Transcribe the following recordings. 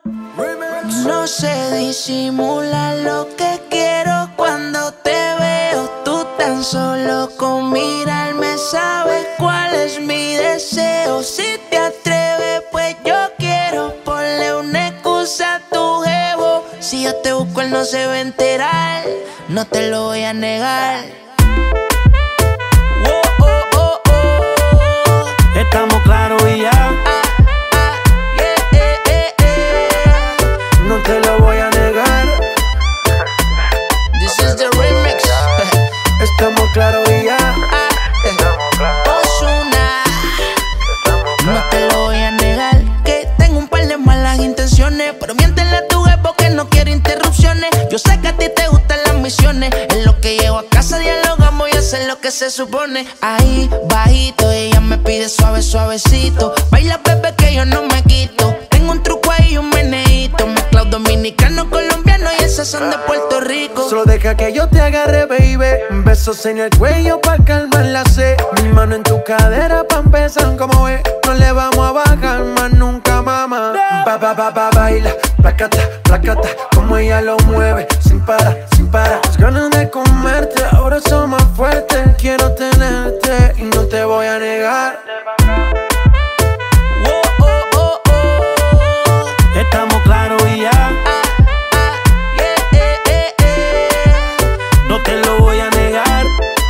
No sé disimular lo que quiero cuando te veo. Tú tan solo con mirarme sabes cuál es mi deseo. Si te atreves, pues yo quiero. Ponle una excusa a tu jevo. Si yo te busco, él no se va a enterar. No te lo voy a negar. Estamos claros y ya. No te lo voy a negar. This is the remix. Estamos claros y ya. Ozuna. No te lo voy a negar. Que tengo un par de malas intenciones, pero miéntele a tu jefe que no quiere interrupciones. Yo sé que a ti te gustan las misiones. En lo que llego a casa dialogamos y hacer lo que se supone. Ahí, bajito, ella me pide suave, suavecito. Baila, bebé, que yo no me quito. Tengo un truco ahí y un meneíto. Mezclado dominicano, colombiano y esas son de Puerto Rico. Solo deja que yo te agarre, baby. Besos en el cuello pa' calmar la sed. Mi mano en tu cadera pa' empezar, como ves. No le vamos a bajar más nunca, mamá. Baila, placata, placata. Como ella lo mueve, sin parar, sin parar. Las ganas de comerte, ahora son más fuertes. Quiero tenerte y no te voy a negar. Estamos claros y ya. No te lo voy a negar.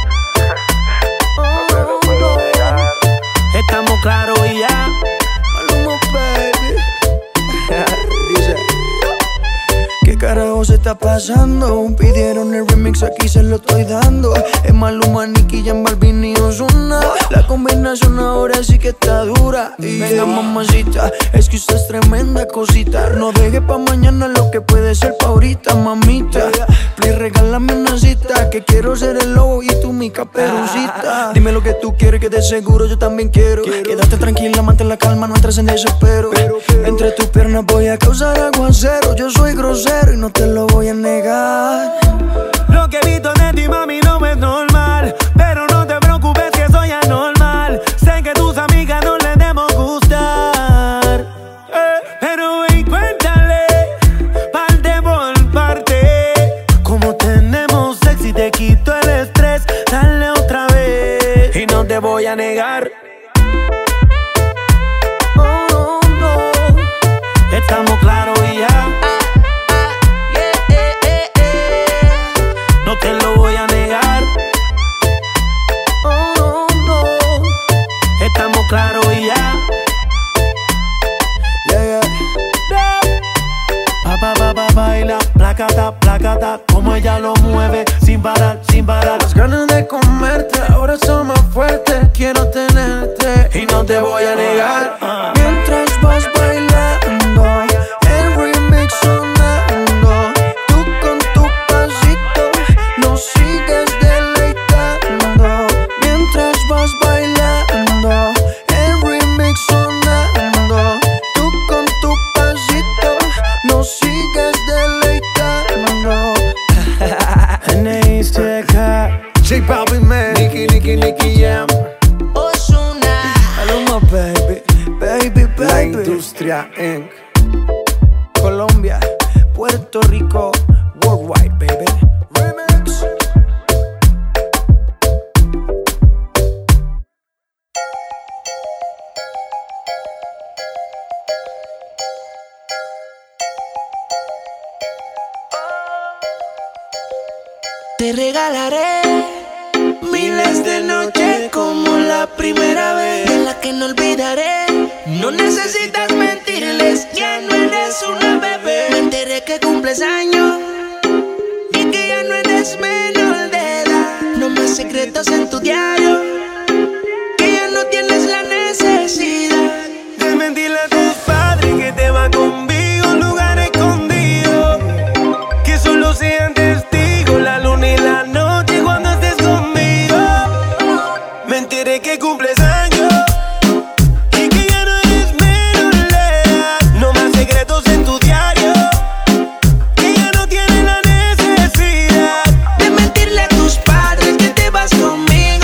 Estamos claros y ya. Maluma, baby. Dice: ¿qué carajo se está pasando? Pidieron el remix, aquí se lo estoy dando. Es Maluma, Nicky, Jan Balvin y Ozuna. La combinación ahora sí que está dura. Y venga, mamacita, es que usted es tremenda cosita. No deje pa' mañana lo que puede ser pa' ahorita, mamita. Please, regálame una cita, que quiero ser el lobo y tú mi caperucita. Dime lo que tú quieres, que de seguro yo también quiero. Quédate tranquila, mantén la calma, no entres en desespero. Entre tus piernas voy a causar aguacero. Yo soy grosero y no te lo voy a negar. Lo que he visto de ti, mami, no es normal. Pero no te preocupes que soy anormal. Sé que tus amigas no les debemos gustar. Pero ven, cuéntale, parte por parte. Como tenemos sexy, te quito el estrés. Dale otra vez y no te voy a negar. Oh, no. Estamos claros y ya. No te lo voy a negar. Oh, no. Estamos claros y ya. Yeah, yeah. Baila, placata, placata. Como ella lo mueve, sin parar, sin parar. Las ganas de comerte ahora son más fuertes. Quiero tenerte y no te voy a negar. Mientras vas bailando, el remix sonando. Tú con tu pasito nos sigues deleitando. Mientras vas bailando, el remix sonando. Tú con tu pasito nos sigues deleitando. J Balvin, man. Nicky Jam. Ozuna. Maluma, baby, baby, baby. La Industria Inc. Colombia, Puerto Rico, worldwide, baby. Remix. Te regalaré miles de noches como la primera vez, de la que no olvidaré. No necesitas mentirles, ya no eres una bebé. Me enteré que cumples años y que ya no eres menor de edad. No más secretos en tu diario, que ya no tienes la necesidad de mentirle a tus padres que te va conmigo a un lugar escondido, que solo sean testigos la luna y la noche cuando estés conmigo. Me enteré que cumples años y que ya no eres menor de edad. No más secretos en tu diario, que ya no tienes la necesidad de mentirle a tus padres que te vas conmigo.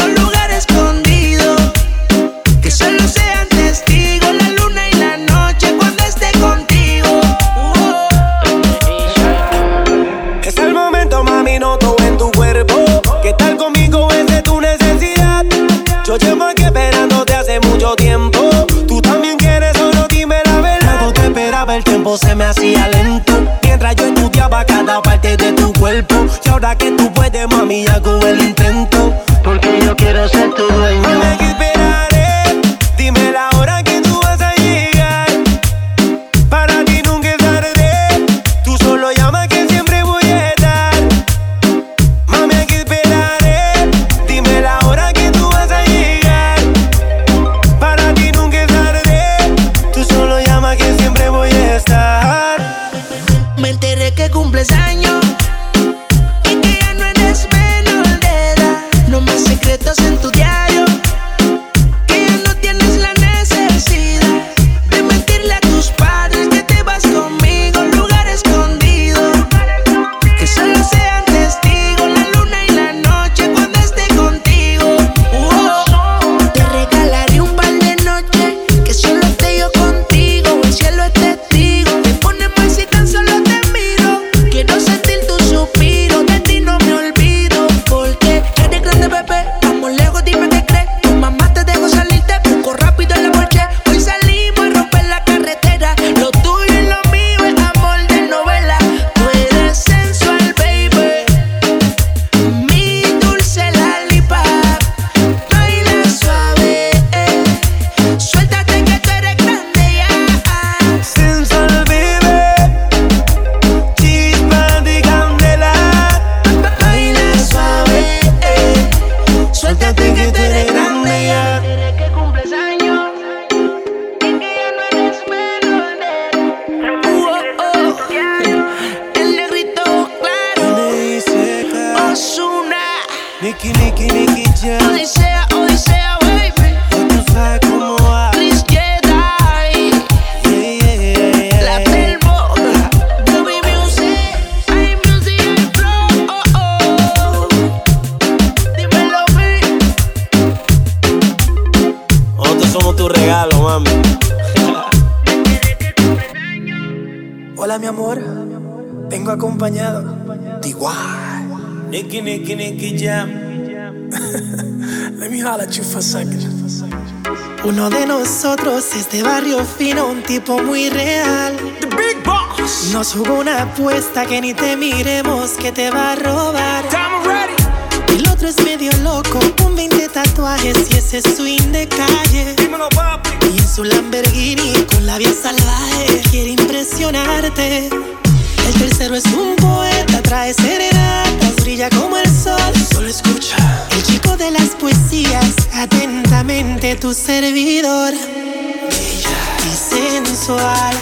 miraba el tiempo se me hacía lento, mientras yo estudiaba cada parte de tu cuerpo. Y ahora que tú puedes, mami, hago el intento, porque yo quiero ser tu dueño. Mami, que esperaré, dime la hora que tú vas a llegar. Para ti nunca es tarde, tú solo llama que siempre voy a estar. Mami, que esperaré, dime la hora que tú vas a llegar. Para ti nunca es tarde, tú solo llama que siempre voy a estar. Me enteré que cumples años y que ya no eres menor de edad. No más secretos en tu diario, que ya no tienes la necesidad de mentirle a tus padres que te vas conmigo a un lugar escondido. Que solo sean testigos la luna y la noche cuando esté contigo. Te regalaré un par de noches que solo esté yo contigo. El cielo es testigo. Te pone mal si tan solo te miro. Quiero sentir tu suspiro, de ti no me olvido. Porque eres grande, bebé. Vamos lejos, dime qué crees. Tu mamá te dejó salir, te busco rápido en la noche. Hoy salimos a romper la carretera. Lo tuyo y lo mío es amor de novela. Tú eres sensual, baby. Mi dulce lollipop. Baila suave, suéltate que tú eres grande ya. Sensual, baby, chispa de candela. Baila suave, suéltate que tú eres grande ya. Desde que cumples años y que ya no eres menor de edad. El negrito claro, Ozuna, Nicky Jam, Odisea, Odisea, baby. ya tú sabes cómo va. Chris Jedi, La Telmo, Ruby Music, iMusic and Flow. Dímelo, baby. Nosotros somos tu regalo, mami. Hola mi amor, vengo acompañado de igual. Nicky Jam. Let me holler at you for a second. Uno de nosotros es de barrio fino, un tipo muy real. The Big Boss. Nos jugó una apuesta que ni te miremos que te va a robar. I'm ready. El otro es medio loco, con 20 tatuajes y ese swing de calle. Dímelo, papi. Y en su Lamborghini con la vía salvaje quiere impresionarte. El tercero es un poeta, trae serenatas, brilla como el sol. Solo escucha. El chico de las poesías, atentamente tu servidor. Bella y sensual,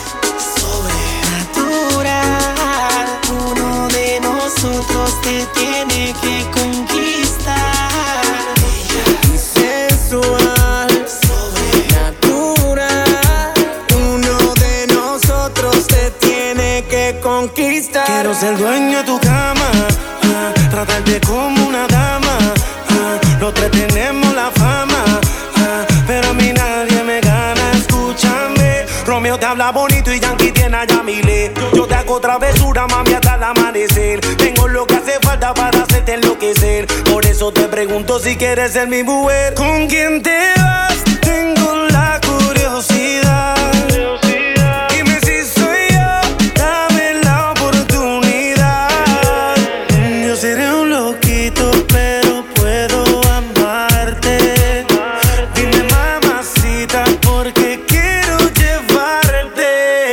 sobrenatural. Uno de nosotros te tiene que conquistar. Bella y sensual, sobrenatural. Uno de nosotros te tiene que conquistar. Quiero ser dueño de tu cama, tratarte como una dama. Los tres tenemos la fama, pero a mí nadie me gana. Escúchame, Romeo te habla bonito y Yankee tiene a Yamile. Yo te hago travesura, mami, hasta el amanecer. Tengo lo que hace falta para hacerte enloquecer. Por eso te pregunto si quieres ser mi mujer. ¿Con quién te vas? Tengo la curiosidad. Dime si soy yo, dame la oportunidad. Yo seré un loquito, pero puedo amarte. Dime, mamacita, porque quiero llevarte.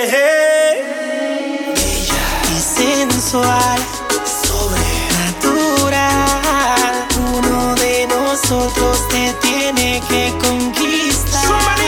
Bella y sensual, sobrenatural. Uno de nosotros te tiene que conquistar.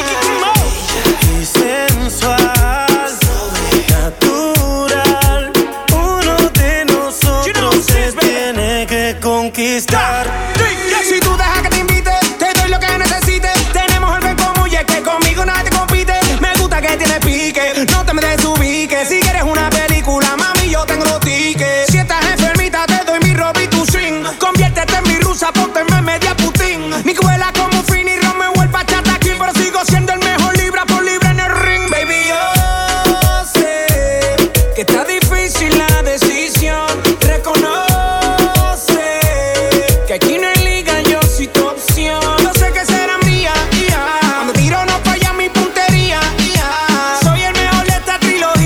Y sensual, sobrenatural. Uno de nosotros se tiene que conquistar. Si tú dejas que te invite, te doy lo que necesites. Tenemos algo en común y es que conmigo nadie compite. Me gusta que tienes pique, no te me desubiques. Si quieres una película, mami, yo tengo los tickets. Si estás enfermita, te doy mi robe y tu swing. Conviértete en mi rusa, ponte en media Putin. Mi cuela como Fini, Romeo, el Bachata King. Pero sigo siendo el mejor libra por libra en el ring. Baby, yo sé que está difícil la decisión. Reconoce que aquí no hay liga, yo soy tu opción. Yo sé que será mía, cuando tiro no falla mi puntería, soy el mejor de esta trilogía.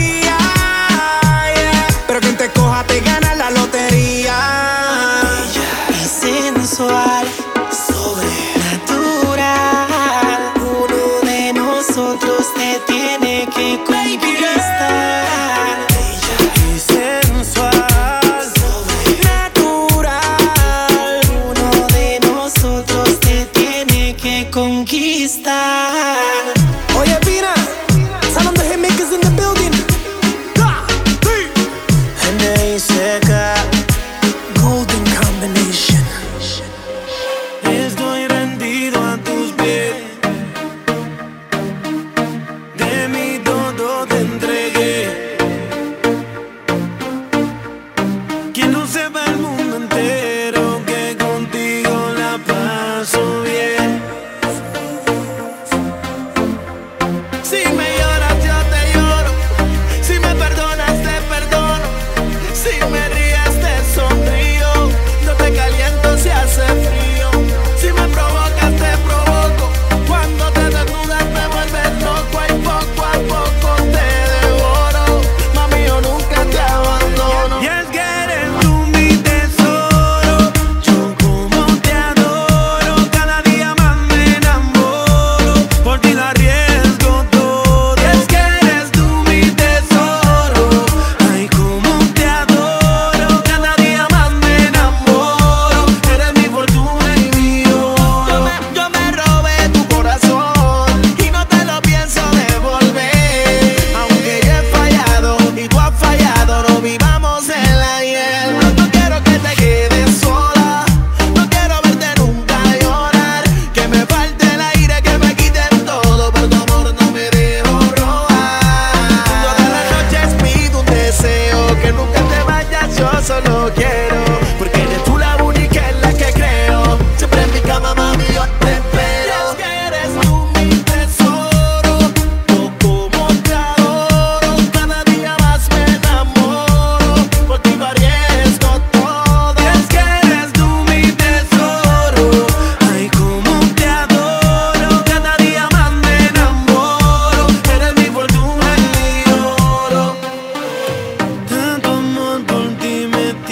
que nunca te vayas, yo solo quiero, porque eres tú la única en la que creo. Siempre en mi cama, mami, yo te espero. Es que eres tú mi tesoro, yo como te adoro, cada día más me enamoro, por ti arriesgo todo. Es que eres tú mi tesoro, ay como te adoro, cada día más me enamoro, eres mi fortuna y mi oro. Tanto amor por ti me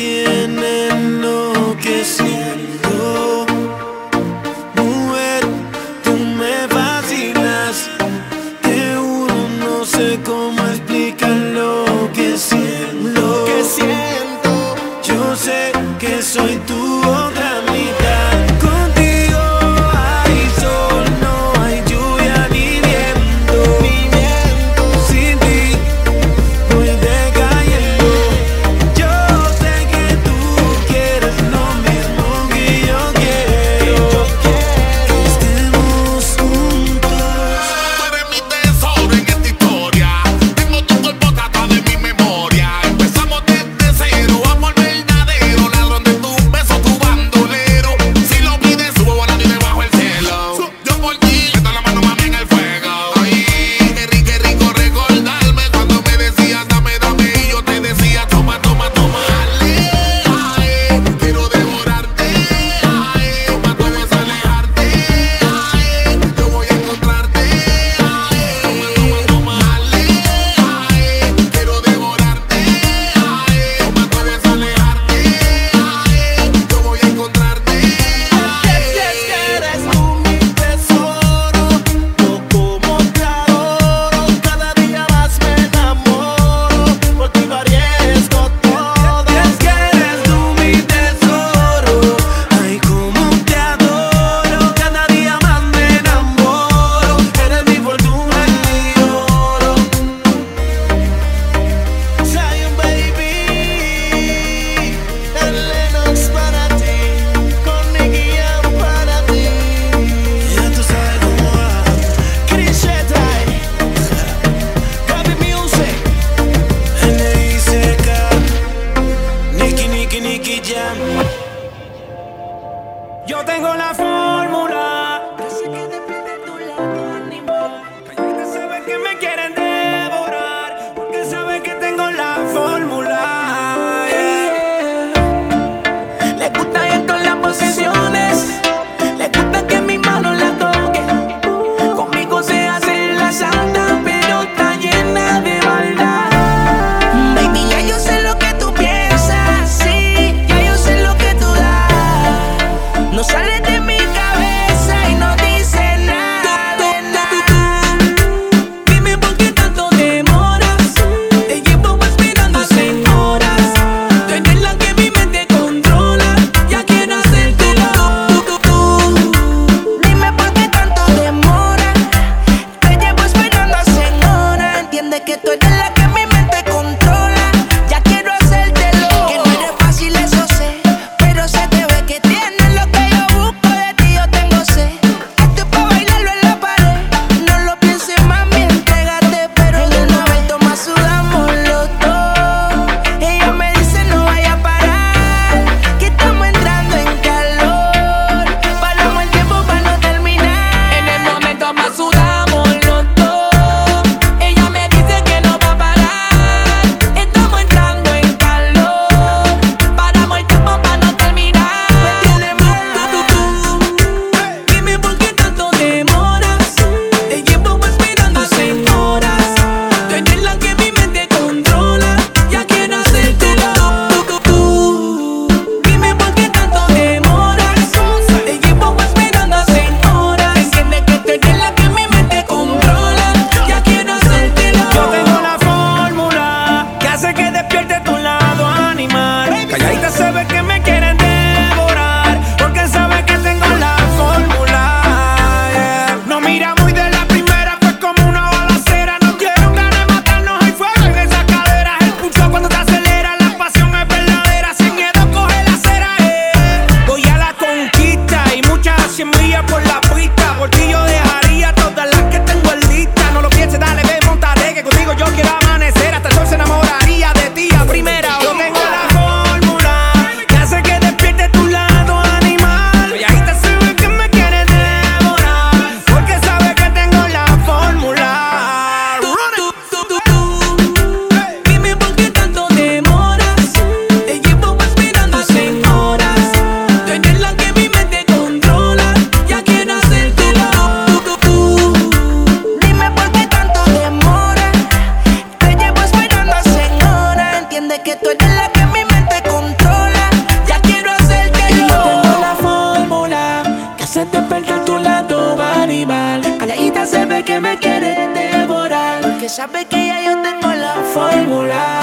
sabe que ya yo tengo la fórmula.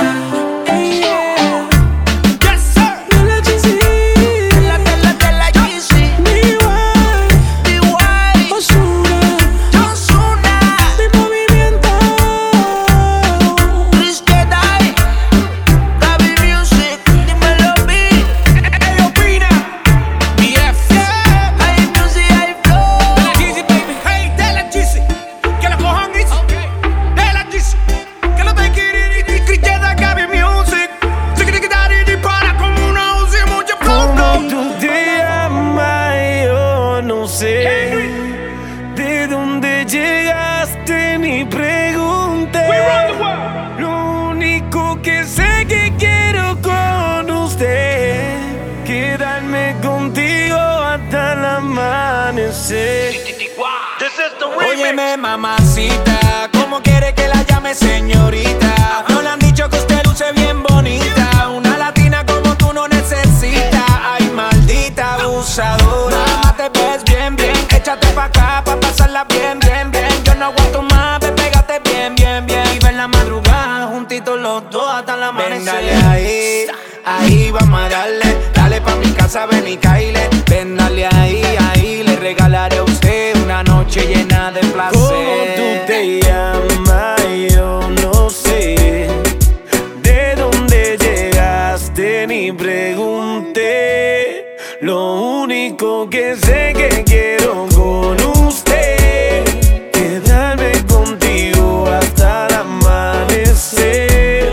Óyeme, mamacita, ¿cómo quiere que la llame señorita? No le han dicho que usted luce bien bonita. Una latina como tú no necesita. Ay, maldita abusadora. Mamá, te ves bien, bien. Échate pa' acá pa' pasarla bien, bien, bien. Yo no aguanto más, ve, pégate bien, bien, bien. Y ver la madrugada juntitos los dos hasta la amanecer. Ven, dale ahí, ahí vamos a darle. Dale pa' mi casa, ven y caile. Ven, dale ahí, ahí. Le regalaré a usted una noche llena de placer. ¿Cómo tú te llamas? Yo no sé. ¿De dónde llegaste? Ni pregunté. Lo único que sé que quiero con usted, quedarme contigo hasta el amanecer.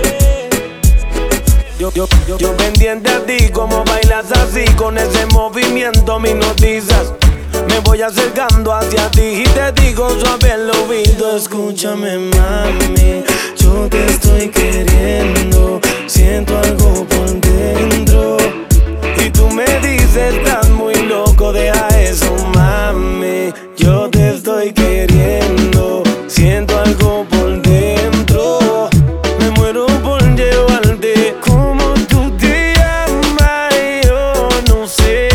Yo pendiente a ti, como bailas así, con ese movimiento me hipnotizas. Me voy acercando hacia ti y te digo suave al oído. Escúchame, mami, yo te estoy queriendo. Siento algo por dentro y tú me dices, estás muy loco, deja eso, mami. Yo te estoy queriendo. Siento algo por dentro. Me muero por llevarte. Como tú te llamas, yo no sé.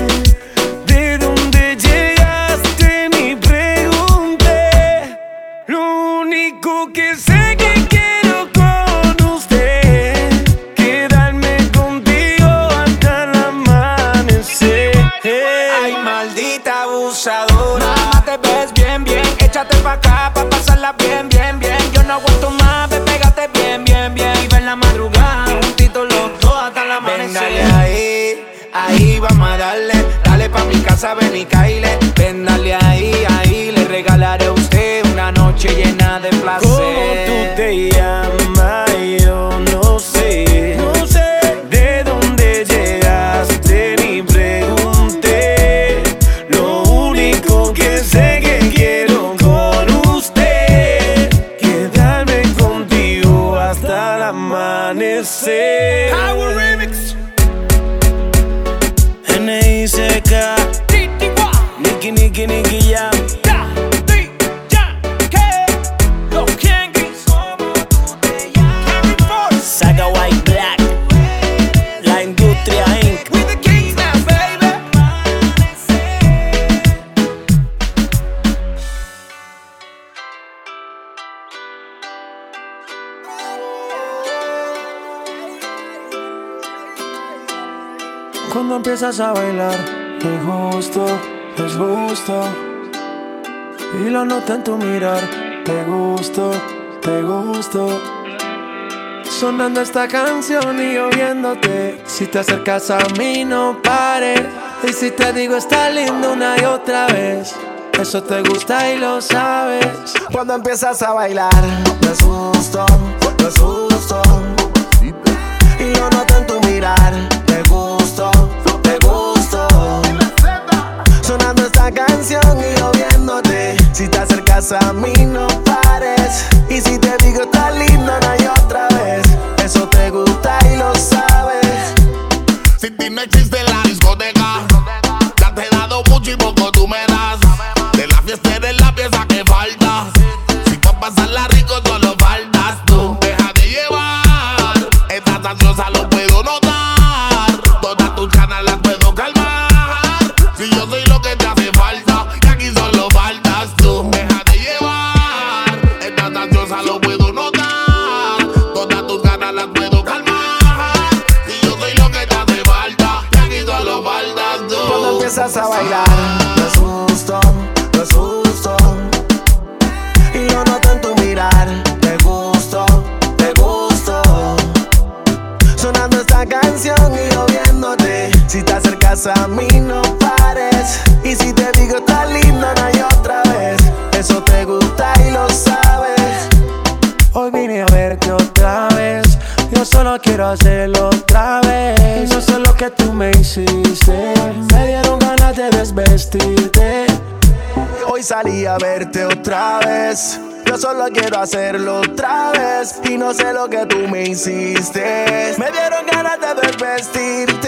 Que sé que quiero con usted, quedarme contigo hasta el amanecer. Ay, maldita abusadora. Mamá, te ves bien, bien. Échate pa' acá pa' pasarla bien, bien, bien. Yo no aguanto más, ve, pégate bien, bien, bien. Y ver la madrugada juntitos los dos hasta el amanecer. Ven, dale ahí, ahí vamos a darle. Dale pa' mi casa, ven y caile. Ven, dale ahí, ahí. Le regalaré a usted una noche llena de placer. ¿Cómo tú te llamas? Yo no sé. No sé de dónde llegaste, ni pregunté. Lo único que sé que quiero con usted, quedarme contigo hasta el amanecer. Power Remix. N.I.C.K. Nicky, Nicky, Nicky Jam. Saga White Black, La Industria Inc. We the kings now, baby. Cuando empiezas a bailar, me gusto, es gusto. Y lo noto en tu mirar, te gusto, te gusto. Sonando esta canción y oyéndote. Si te acercas a mí no pares. Y si te digo está lindo una y otra vez, eso te gusta y lo sabes. Cuando empiezas a bailar, me asusto, me asusto. Y lo noto en tu mirar, te gusto, te gusto. Sonando esta canción y oyéndote. Si te acercas a mí no pares. Y si te digo está lindo una y otra vez, eso te gusta y lo sabes. Si ti no existe la discoteca, ya te he dado mucho y poco tú me das. De la fiesta eres la pieza que falta. Si pa' pasarla rico solo faltas tú. Deja de llevar, estás ansiosa lo puedo notar. Todas tus ganas las puedo calmar. Si yo soy lo que te hace falta, y aquí solo faltas tú. Deja de llevar, estás ansiosa lo puedo canción y yo viéndote. Si te acercas a mí no pares. Y si te digo está lindo no hay otra vez. Eso te gusta y lo sabes. Hoy vine a verte otra vez. Yo solo quiero hacerlo otra vez. No sé lo que tú me hiciste. Me dieron ganas de desvestirte. Hoy salí a verte otra vez. Yo solo quiero hacerlo otra vez. Y no sé lo que tú me hiciste. Me dieron ganas de desvestirte.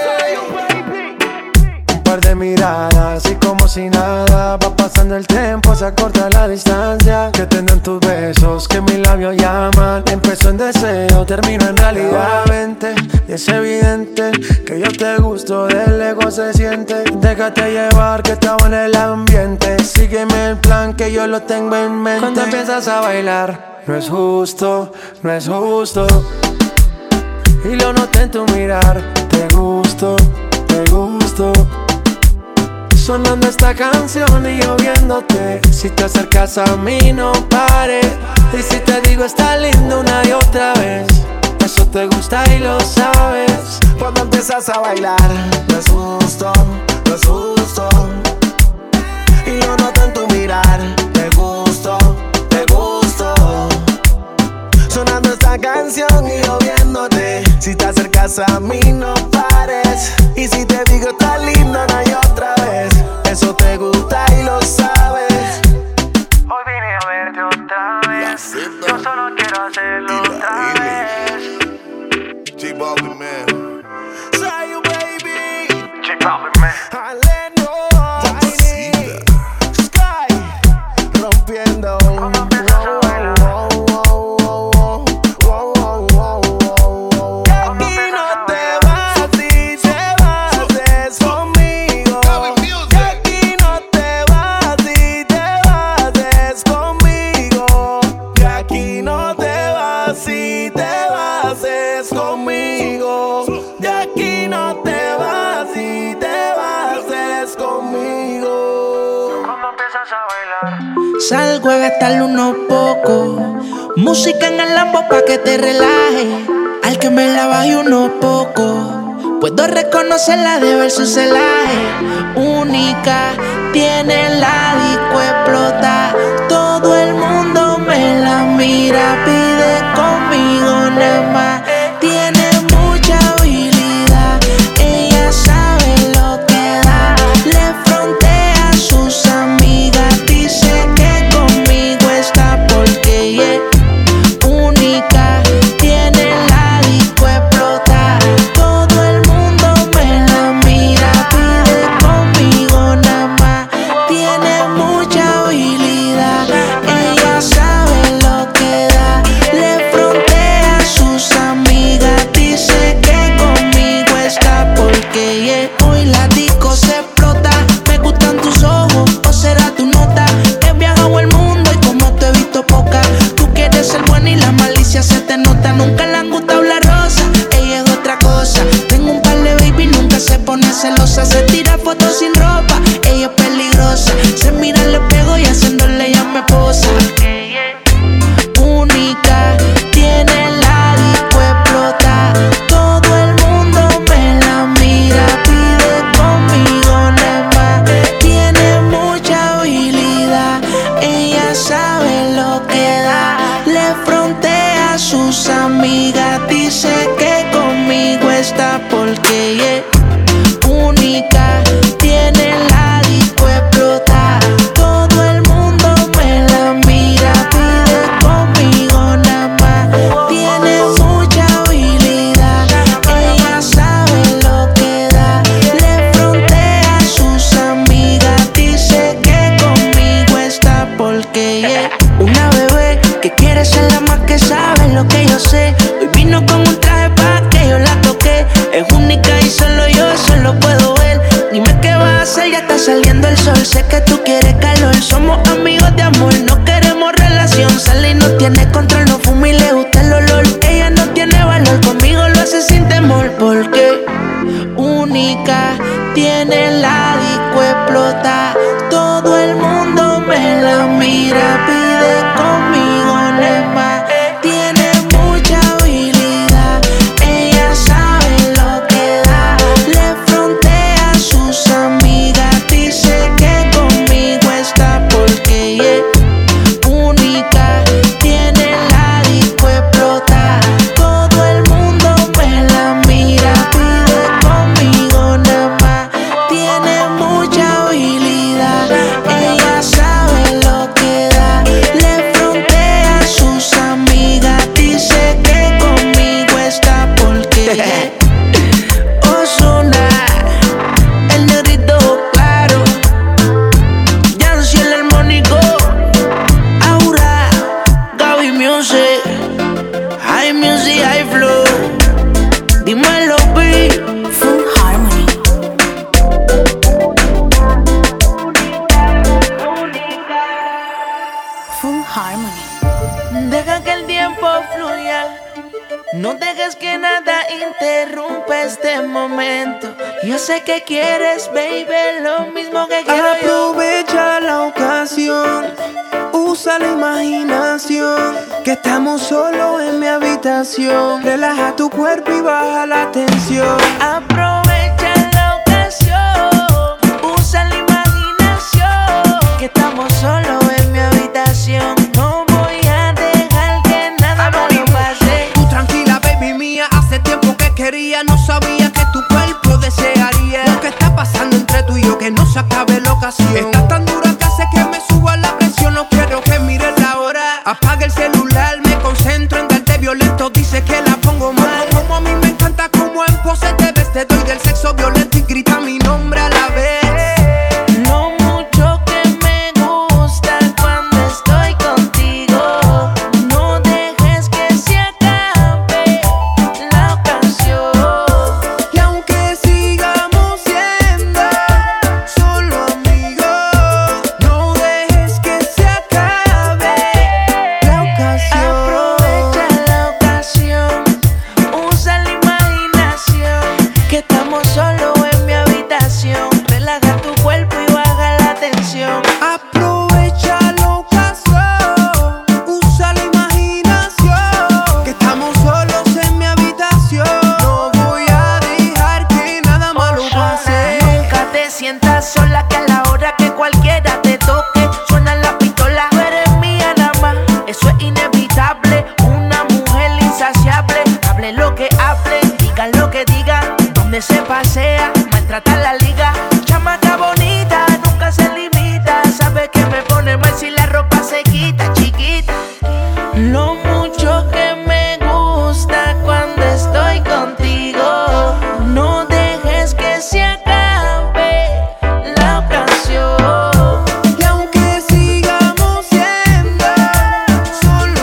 Un par de miradas y como si nada. Va pasando el tiempo, se acorta la distancia. Que tendrán tus besos, que mis labios llaman. Empezó en deseo, termino en realidad. Vente, y es evidente que yo te gusto, de lejos se siente. Déjate llevar que estaba en el ambiente. Sígueme el plan que yo lo tengo en mente. Cuando empiezas a bailar, no es justo, no es justo. Y lo noté en tu mirar, te gusto, te gusto. Sonando esta canción y yo viéndote. Si te acercas a mí no pares. Y si te digo está lindo una y otra vez. Eso te gusta y lo sabes. Cuando empiezas a bailar, no es justo, no es justo. Y lo noto en tu mirar, te gusto, te gusto. Sonando esta canción y yo viéndote. Si te acercas a mí no pares. Y si te digo está lindo no hay otra vez. Eso te gusta y lo sabes. Hoy vine a verte otra vez. Yo solo quiero hacerlo otra vez. J-Balvin, man. Say you baby. J-Balvin, man. Aleno, Tiny, Sky, rompiendo. Aquí no te vas si te vas conmigo. Aquí no te vas si te vas conmigo. Aquí no te vas si te vas conmigo. De aquí no te vas si te vas conmigo. Cuando empiezas a bailar, Salgo a gastarle unos pocos. Música en el Lambo pa' que te relaje. Al que me la baje unos pocos. Puedo reconocerla de ver su celaje. Única, tiene la disco explota. Todo el mundo me la mira. Pide conmigo nada más. Tiene mucha habilidad. Ella sabe lo que da. Le frontea a sus amigas. Dice que conmigo está porque ella es única. Tiene la disco explota. Todo el mundo me la mira. Pide conmigo nada más. Tiene mucha habilidad. Ella sabe lo que da. Le frontea a sus amigas. Dice que conmigo está porque ella hoy la disco se explota. Me gustan tus ojos o será tu nota. He viajado el mundo y como te he visto poca. Tú quieres ser buena y la malicia se te nota. Nunca le han gustado la rosa, ella es otra cosa. Tengo un par de baby, nunca se pone celosa. Se tira fotos sin ropa, ella es peligrosa. Se mira al espejo y haciéndole ya me posa. Única, tiene la disco explota. Todo el mundo me la mira. Pide conmigo nada más. Tiene mucha habilidad. Ella sabe lo que da. Le frontea a sus amigas. Dice que conmigo está porque ella es única. Tiene la disco explota. Todo el mundo me la mira. Pide conmigo nada más. Tiene mucha habilidad. Ella sabe lo que da. Le frontea a sus amigas. Dice que conmigo está porque ella es una bebé que quiere ser la más que sabe lo que yo sé. Hoy vino con un traje pa' que yo la toque. Es única y solo yo eso lo puedo ver. Dime qué vas a hacer, ya está saliendo el sol. Sé que tú quieres calor, somos amigos de amor. No queremos relación, sale y no tiene control. No fuma y le gusta el olor. Ella no tiene valor, conmigo lo hace sin temor. Porque única, tiene la disco explota. Todo el mundo me la mira. Pide conmigo nada más. Tiene mucha habilidad. Ella sabe No dejes que nada interrumpa este momento. Yo sé que quieres, baby, lo mismo que quiero yo. Aprovecha la ocasión, usa la imaginación, que estamos solos en mi habitación. Relaja tu cuerpo y baja la tensión. Aprovecha la ocasión, usa la imaginación, que estamos solos en mi habitación. No voy a dejar que nada malo pase. Tú tranquila, baby mía, hace tiempo que quería. No sabía que tu cuerpo desearía lo que está pasando entre tú y yo, que no se acabe la ocasión. Estás tan dura que hace que me suba la presión. No quiero que mires la hora. Apaga el celular, me concentro en darte violento. Dice que la pongo mal. Como a mí me encanta como en pose te ves. Te doy del sexo violento y grita mi nombre a la vez. Lo mucho que me gusta cuando estoy contigo. No dejes que se acabe la ocasión. Y aunque sigamos siendo solo amigos, no dejes que se acabe la ocasión. Aprovecha la ocasión, usa la imaginación, que estamos solos en mi habitación. Relaja tu cuerpo y baja la tensión. Aprovecha la ocasión, usa la imaginación, que estamos solos en mi habitación. No voy a dejar que nada malo pase. Nunca te sientas sola, que a la hora que cualquiera te toque suena la pistola. Tú eres mía nada más, eso es inevitable. Una mujer insaciable, hable lo que hable, diga lo que diga. Donde se pasea, maltrata la liga. Chamaca bonita, nunca se limita. Sabe que me pone mal si la ropa se quita, chiquita. Lo mucho que me gusta cuando estoy contigo. No dejes que se acabe la ocasión. Y aunque sigamos siendo solo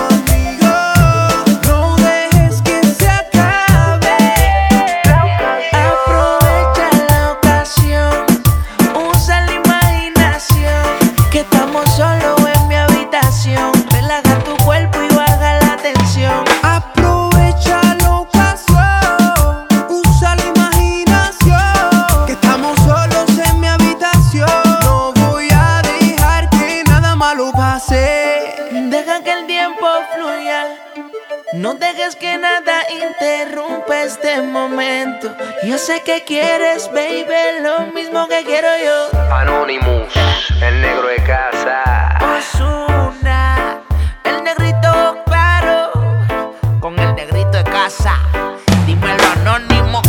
amigos, no dejes que se acabe la ocasión. Aprovecha la ocasión, usa la imaginación, que estamos solos en mi habitación. Relaja tu cuerpo y baja la tensión. Aprovecha la ocasión, usa la imaginación, que estamos solos en mi habitación. No voy a dejar que nada malo pase. Deja que el tiempo fluya. No dejes que nada interrumpa este momento. Yo sé que quieres, baby, lo mismo que quiero yo. Anonymous, el negro de casa. Ozuna, el negrito claro, con el negrito de casa. Dímelo, Anonymous.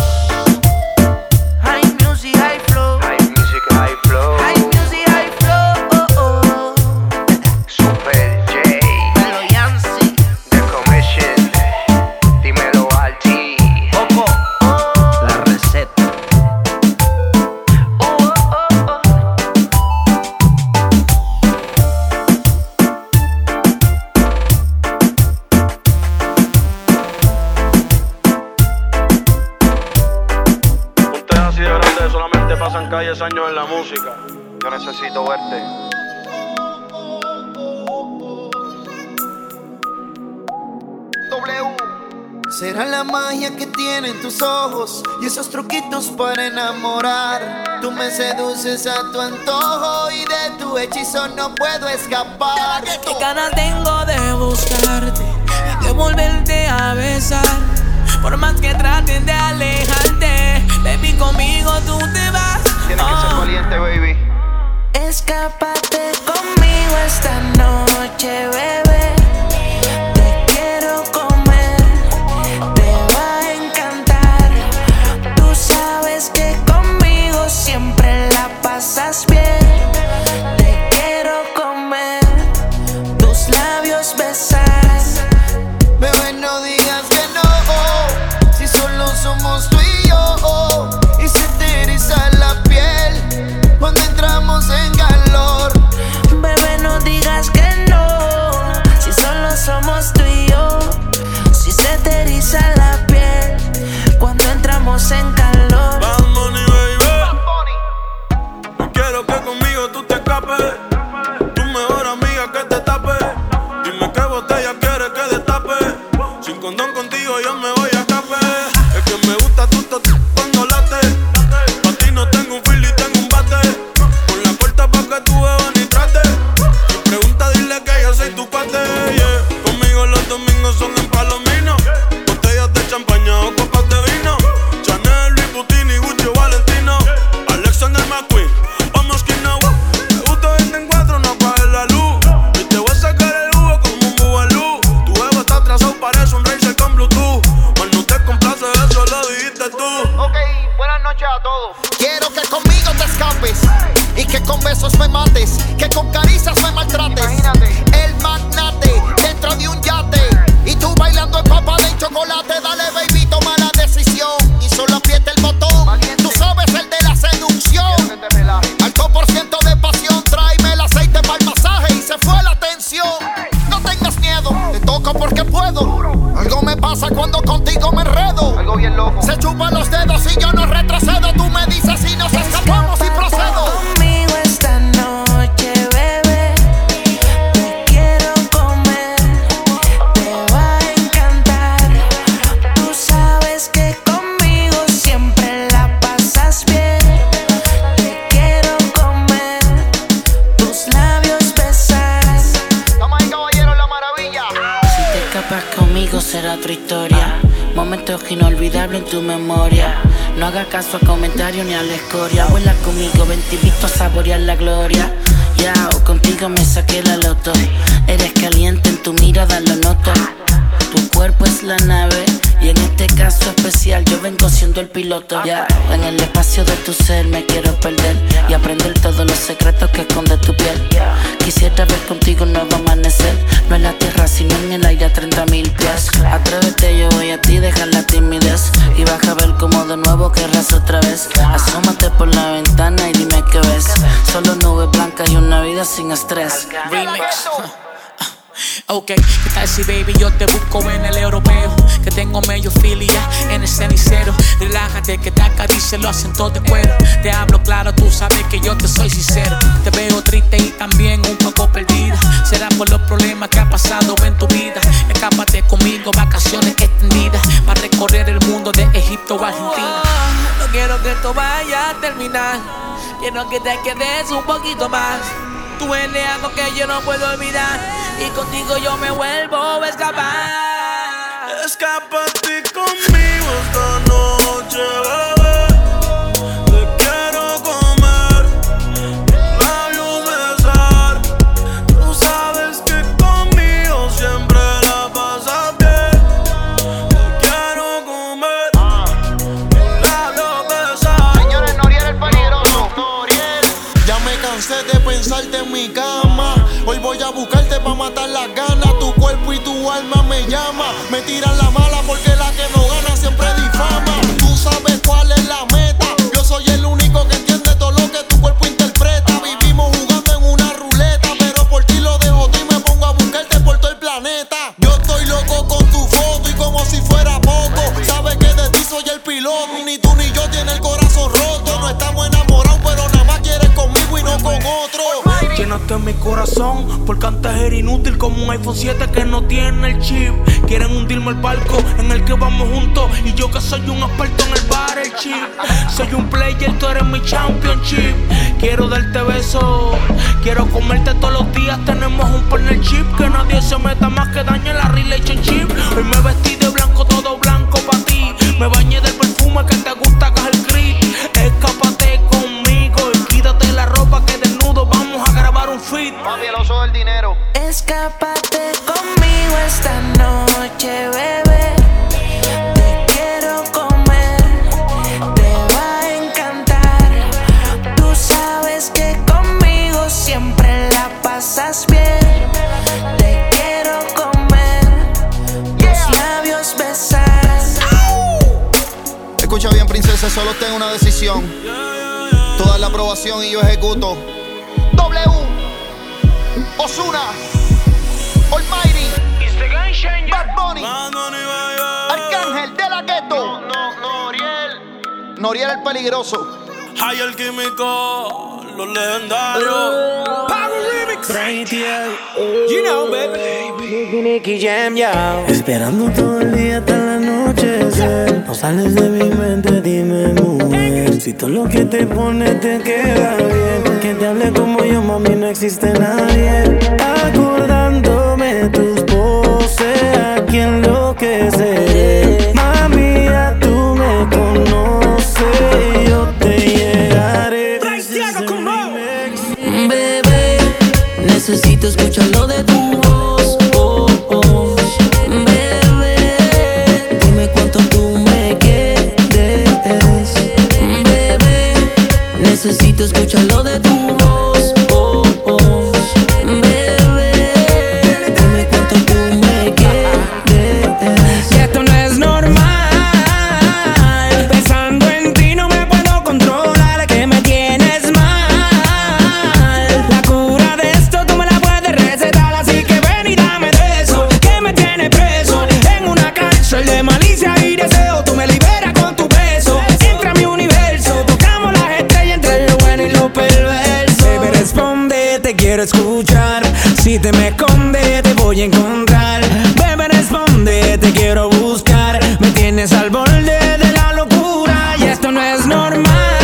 High music, high flow. High music, high flow. High music, high flow. Oh, oh. Super J, Melo Yancy. The Commission. Dímelo Alti. Coco, la receta. Oh, oh, oh, oh. Un tema así de grande solamente pasan calles años en la música. Yo necesito verte. Será la magia que tienen tus ojos y esos truquitos para enamorar. Tú me seduces a tu antojo y de tu hechizo no puedo escapar. Qué ganas tengo de buscarte y de volverte a besar. Por más que traten de alejarte, baby, conmigo tú te vas. Tienes que ser valiente, baby. Escápate conmigo esta noche, bebé. Te quiero comer, te va a encantar. Tú sabes que conmigo siempre la pasas bien. Te quiero comer, tus labios besar. Bebé, no digas que no, si solo somos tú y yo. Y se te eriza la piel cuando entramos en calor. yo me voy a escape. Es que me gusta tu cuando late. Pa' ti no tengo un fil y tengo un bate. Con la puerta pa' que tú bebas ni trate. Si pregunta dile que yo soy tu pate, yeah. Conmigo los domingos son en Palomino. Botellas de champaña o copas de vino. Chanel, Louis Vuitton y Gucci o Valentino. Alexander McQueen, vamos que no. Me gusta verte en cuatro, no apagues la luz. Y te voy a sacar el jugo como un bubalú. Tu ego está atrasado, parece un racer con Bluetooth. Mas no te complace, eso lo dijiste tú. Ok, buenas noches a todos. Quiero que conmigo te escapes y que con besos me mates, que con caricias me maltrates. Imagínate. El magnate dentro de un yate y tú bailando en papa de chocolate. Dale baby, toma la decisión y solo aprieta el botón. Valiente. Tú sabes el de la seducción. Alto por ciento de pasión, tráeme el aceite para el masaje y se fue la tensión. No tengas miedo, te toco porque puedo. Algo me pasa cuando contigo me enredo. Algo bien loco. Se chupan los dedos y yo no retrocedo. Tú me dices si nos escapamos y procedo. Conmigo esta noche, bebé. Te quiero comer. Te va a encantar. Tú sabes que conmigo siempre la pasas bien. Te quiero comer. Tus labios besar. Toma ahí, caballero, la maravilla. Si te escapas conmigo será otra historia. Momentos inolvidables en tu memoria. No hagas caso a comentarios ni a la escoria. Vuela conmigo, ven te invito a saborear la gloria. Ya, o contigo me saqué la loto. Eres caliente, en tu mirada lo noto. Tu cuerpo es la nave y en este caso especial yo vengo siendo el piloto. Ya, en el espacio de tu ser me quiero perder y aprender todos los secretos que esconde tu piel. Quisiera ver contigo un nuevo amanecer, no en la tierra sino en el aire a 30.000 pies. Atrévete, yo voy a ti, deja la timidez y vas a ver como de nuevo querrás otra vez. Asómate por la ventana y dime qué ves. Solo nubes blancas y una vida sin estrés. Remix. Ok, ¿qué tal si baby yo te busco en el europeo? Que tengo medio filia en el cenicero. Relájate que te acaricie los acentos de cuero. Te hablo claro, tú sabes que yo te soy sincero. Te veo triste y también un poco perdida. Será por los problemas que ha pasado en tu vida. Escápate conmigo, vacaciones extendidas para recorrer el mundo de Egipto a Argentina. No quiero que esto vaya a terminar. Quiero que te quedes un poquito más. Tú eres algo que yo no puedo olvidar y contigo yo me vuelvo a escapar. Escápate conmigo esta noche, bebé. Te quiero comer, labios besar. Tú sabes que conmigo siempre la pasas bien. Te quiero comer, labios besar. Señores, Noriel el peligroso. Noriel. Ya me cansé de pensarte en mi cama. Hoy voy a buscarte pa' matar las ganas. Tu cuerpo y tu alma me llama. Me tiran la mala porque la que no gana siempre difama. Tú sabes cuál es la meta. Yo soy el único que entiende todo lo que tu cuerpo interpreta. Vivimos jugando en una ruleta, pero por ti lo dejo tú y me pongo a buscarte por todo el planeta. Yo estoy loco con tu foto y como si fuera poco. Sabes que de ti soy el piloto. Ni tú ni yo tiene el corazón roto. No estamos enamorados, pero nada más quieres conmigo y no con otro. Llenaste mi corazón porque antes era inútil como un iPhone 7 que no tiene el chip. Quieren hundirme el barco en el que vamos juntos y yo que soy un experto en el bar, el chip. Soy un player, tú eres mi championship. Quiero darte besos, quiero comerte todos los días. Tenemos un partnership que nadie se meta más que dañe la relationship. Hoy me vestí de blanco, todo blanco pa' ti. Me bañé del perfume que te gusta, que es el grit. Escápate conmigo y quítate la ropa que desnudo vamos a grabar un feat. Papi, el oso del dinero. Escápate conmigo esta noche, bebé. Te quiero comer, te va a encantar. Tú sabes que conmigo siempre la pasas bien. Te quiero comer, tus labios besar. Escucha bien, princesa, solo tengo una decisión. Toda la aprobación y yo ejecuto. W Ozuna, Almighty, Bad Bunny, Arcángel de la Ghetto. Noriel el peligroso. Hay el químico, los legendarios. Power Remix. You know, baby. Nicky Jam, yo. Esperando todo el día hasta la noche. Sales de mi mente, dime mujer, si todo lo que te pone te queda bien. Que te hable como yo, mami, no existe nadie. Acordándome tus poses, a quien enloqueceré. Mami, ya tú me conoces, yo te llegaré. Bebé, necesito escucharlo de tu voz. Oh, oh. Bebé, dime cuánto tú me quieres. Bebé, necesito escucharlo de tu voz. Oh, oh. Bebé, dime cuánto tú me quieres. Y esto no es normal. Pensando en ti no me puedo controlar, que me tienes mal. La cura de esto tú me la puedes recetar, así que ven y dame de eso, que me tiene preso en una cárcel de malicia y deseo. Tú me liberas con tu beso, entra a mi universo, tocamos las estrellas entre lo bueno y lo perverso. Baby, responde, te quiero escuchar. Si te me esconde, te voy a encontrar. Baby, responde, te quiero buscar. Me tienes al borde de la locura y esto no es normal.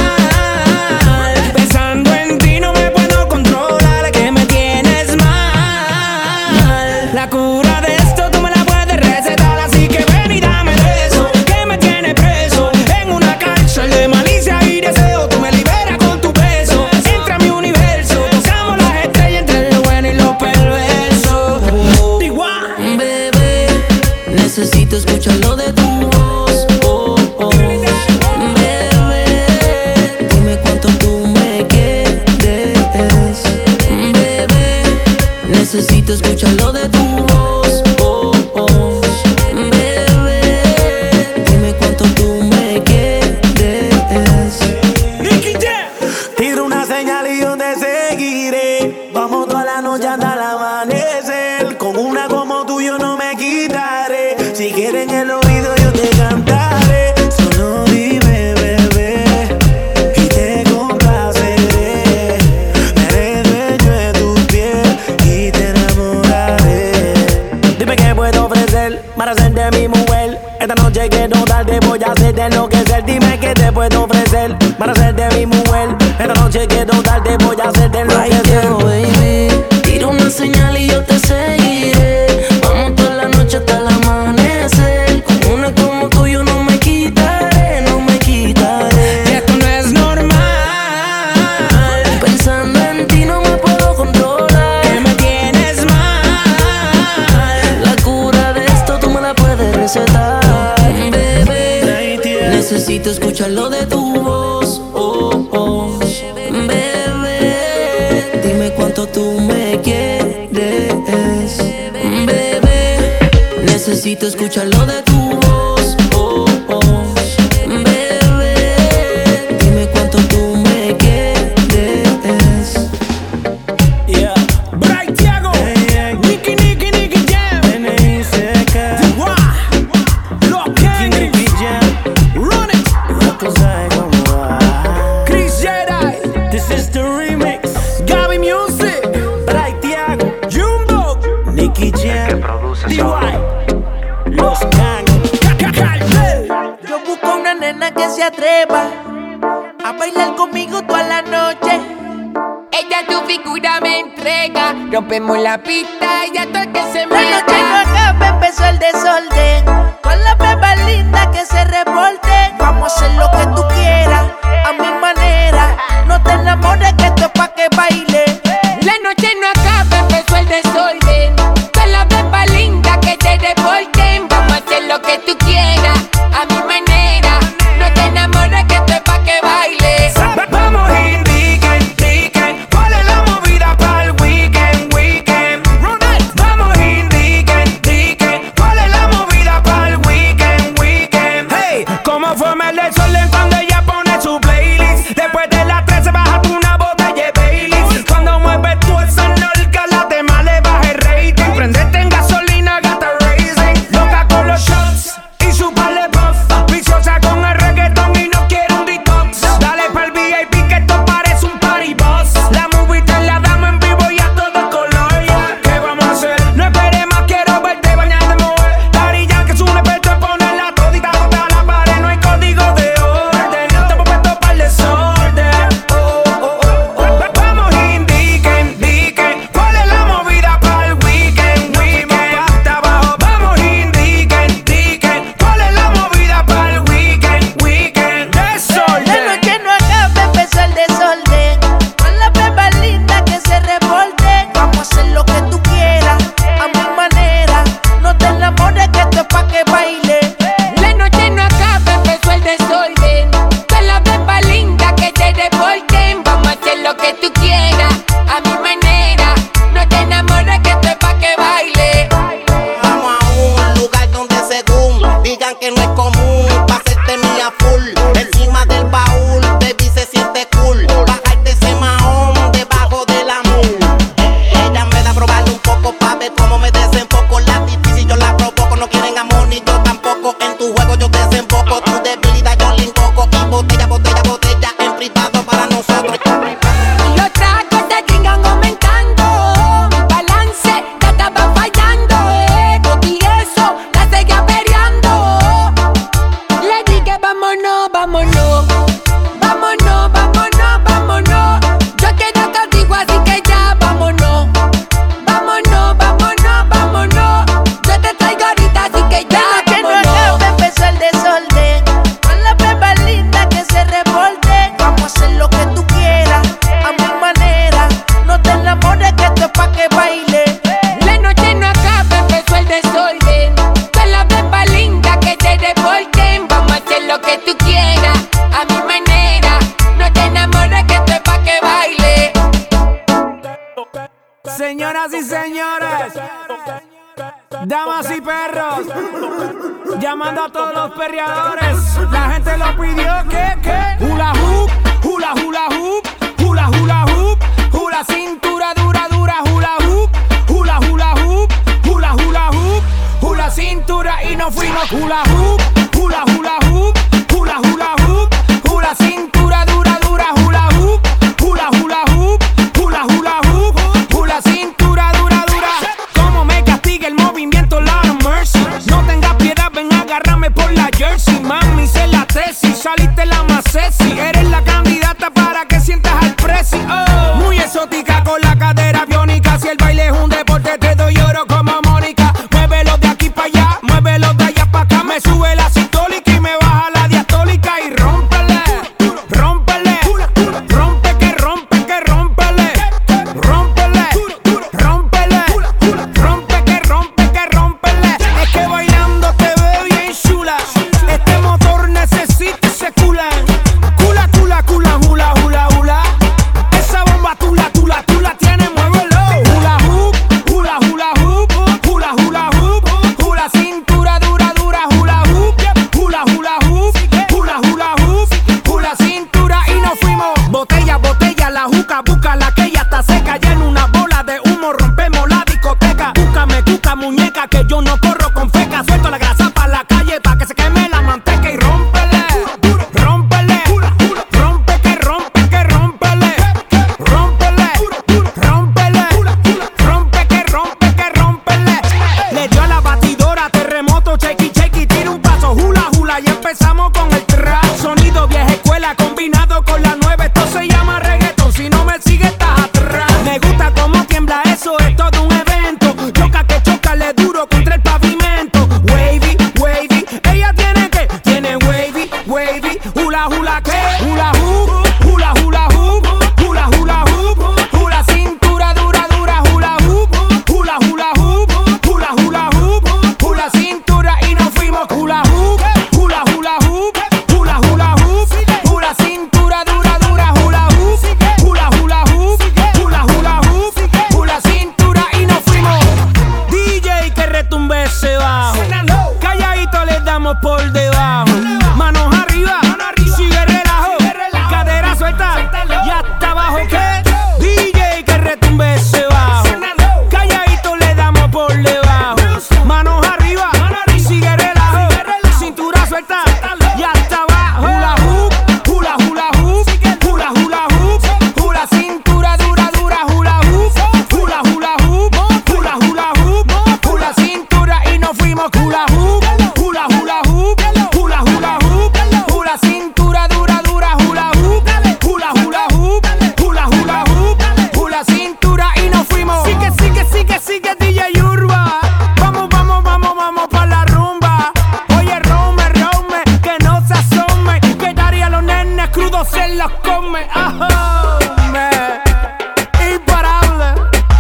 Pensando en ti no me puedo controlar, que me tienes mal. La cura de esto tú me la puedes recetar, así que ven y dame de eso, que me tiene preso en una cárcel de malicia y deseo. Tú me liberas con tu beso, entra a mi universo, tocamos las estrellas entre lo bueno y lo perverso. Bebé, necesito escucharlo de tu voz. Oh, oh. Bebé, dime cuánto tú me quieres. Bebé, necesito escucharlo de tu voz. Oh, oh. Bebé, dime cuánto tú me quieres. Tiro una señal y yo te seguiré. Vamos toda la noche hasta el amanecer. Con una como tú yo no me quitaré. Si quieres en el oído yo te cantaré. Solo dime, bebé, y te complaceré. Me haré dueño de tu piel y te enamoraré. Dime qué puedo ofrecer para hacerte mi mujer. Esta noche quiero darte, voy a hacerte enloquecer. Dime qué te puedo ofrecer para hacerte mi mujer. Esta noche quiero darte, voy a hacerte enloquecer. Baby, tira una señal y yo te seguiré. Vamos toda la noche hasta el amanecer. Con una como tú yo no me quitaré, no me quitaré. Y esto no es normal. Pensando en ti no me puedo controlar, Que me tienes mal. la cura de esto tú me la puedes recetar. Bebé, necesito escucharlo de tu voz. Oh, oh. Bebé, dime cuánto tú me quieres. Bebé, necesito escucharlo de tu voz. Oh, oh. Bebé, dime cuánto tú me quieres. Yeah. Bright Thiago, Nicky Jam, N.I.C.K. Lock Henry, Run It, Chris Jedi, This is the remix. Gaby Music, Bright Thiago, Jumbo, Nicky Jam, D.Y. Los Gang. Yo busco una nena que se atreva a bailar conmigo toda la noche. Ella tu figura me entrega. Rompemos la pista y ya todo el que se La noche no meta. acaba, empezó el desorden. Con las bebas lindas que se reporten. Vamos a hacer lo que tú quieras, a mi manera. No te enamores que esto es pa' que baile. La noche no acaba, empezó el desorden. Con la beba linda que te reporten. Vamos a hacer lo que tú quieras, a mi manera. No te enamores que esto es pa' que baile. Vamos indiquen, ¿cuál es la movida para el weekend? Vamos indiquen, ¿cuál es la movida para el weekend? Hey, ¿cómo forma el desorden cuando ella pone su playlist? Después de las 13 baja tú una botella de Baileys. Cuando mueves tú esa nalga, la tema le baja el rating. Prendete en gasolina, gata racing. Loca con los shots y su par de puff. Viciosa con el reggaetón y no quiere un detox. Dale pa'l VIP que esto parece un party boss. La movida la damos en vivo y a todo color, yeah. ¿Qué vamos a hacer? No esperes más, quiero verte bañada de mover. Daddy Yankee es un experto en ponerla todita contra la pared. No hay yo desemboco. Tu debilidad yo le invoco. Y botella, botella, botella, en privado para nosotros. Los tragos te sigan aumentando. Mi balance ya estaba fallando. Con eso la seguía peleando. Le dije vámonos, vámonos. Vámonos, vámonos, vámonos. Yo quiero contigo, así que ya vámonos. Vámonos, vámonos, vámonos. Yo te traigo ahorita, así que ya vámonos. Que no acabe, empezó el desorden. Con la beba linda que se revolte. Vamos a hacer lo que tú quieras, a mi manera. No te enamores que esto es pa' que baile. La noche no acaba, empezó el desorden. Con la beba linda que se revolten. Vamos a hacer lo que tú quieras, a mi manera. No te enamores que esto es pa' que baile. Señoras y señores, damas y perros, llamando a todos los perreadores. La gente lo pidió, ¿qué? Hula hoop, hula hula hoop, hula hula hoop, hula cintura dura dura, hula hoop, hula hula hoop, hula hula hoop, hula cintura y nos fuimos. Hula hoop, hula hula hoop, hula hula hoop, hula cintura dura dura, hula hoop, hula hula hoop, hula hula hoop, hula cintura dura dura. Como me castiga el movimiento, Lord of mercy. No tengas piedad, ven agárrame por la jersey. Mami, sé la tesis, saliste la más sexy. Eres la candidata para que sientas al presi. Oh, muy exótica con la cadera biónica. Si el baile es un deporte, te doy oro como Mónica. Muévelo de aquí para allá, muévelo de allá para acá. Me sube la sistólica y me baja la diastólica. Y rómpele, rómpele, rompe que rompe que rómpele, rómpele, rómpele, rompe que rompe que rómpele. Es que bailando te veo bien chula. Este motor necesita ese cula. Cula, cula, cula, hula, hula, hula. Esa bomba tú la tienes, muévelo. Hula hoop, hula, hula hoop, hula, hula hoop, hula cintura dura, dura, hula hoop, hula, hula hoop, hula, hula hoop, hula cintura y nos fuimos. Botella, botella, la juca, busca la que ya está seca. Ya en una bola de humo rompemos la discoteca. Búscame, cuca, muñeca, que yo no corro con feca. Suelto la grasa pa' la calle pa' que se queme la manteca y rómpele, rómpele, rompe que rompe que rómpele, rómpele, rómpele, rompe que rompe que rómpele. Le dio a la batidora terremoto, chequi, chequi, tira un paso, hula, hula y empezamos con el trap. Sonido vieja escuela combinado con la nueva, esto se llama reggaeton, si no me sigue estás atrás. Me gusta cómo tiembla eso, es todo un evento. Choca que choca, le duro contra el pavimento. Wavy, wavy, ella tiene que, tiene wavy, wavy, hula, hula que, hula hoop, hula, hula hoop, hula, hula hoop, hula cintura dura, dura, hula hoop, hula, hula hoop, hula, hula hoop, hula cintura y nos fuimos. Hula hoop, hula, hula hoop, hula, hula hoop, hula cintura dura, dura, hula hoop, hula, hula hoop, hula, hula hoop, hula cintura y nos fuimos. DJ que retumbe ese bajo, calladito les damos por debajo. Manos arriba, sigue relajo, cadera suelta y hasta abajo. ¿Qué? DJ que retumbe ese bajo, calladito le damos por debajo. Manos arriba, sigue relajo, cintura suelta y hasta abajo. Hula hoop, hula hula hoop, hula hula hoop, hula cintura dura dura, hula hoop, hula hula hoop, hula hula hoop, hula cintura y nos fuimos. Hula hoop, hula hula hoop, hula hula hoop, hula cintura dura dura, hula hoop, hula hula hoop, hula hula hoop, hula cintura y nos fuimos. Sigue, sigue, sigue, sigue DJ Urba. Vamos, vamos, vamos, vamos pa' la rumba. Oye, Rome, Rome, que no se asome, que daría a los nenes crudos se los come. Ajá, imparable.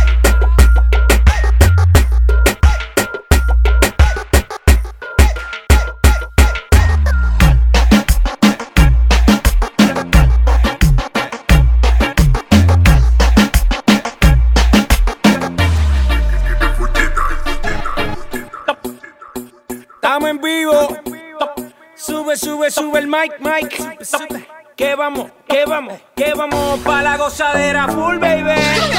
Estamos en vivo. Sube, sube, sube el mic, mic. Que vamos pa' la gozadera full, baby.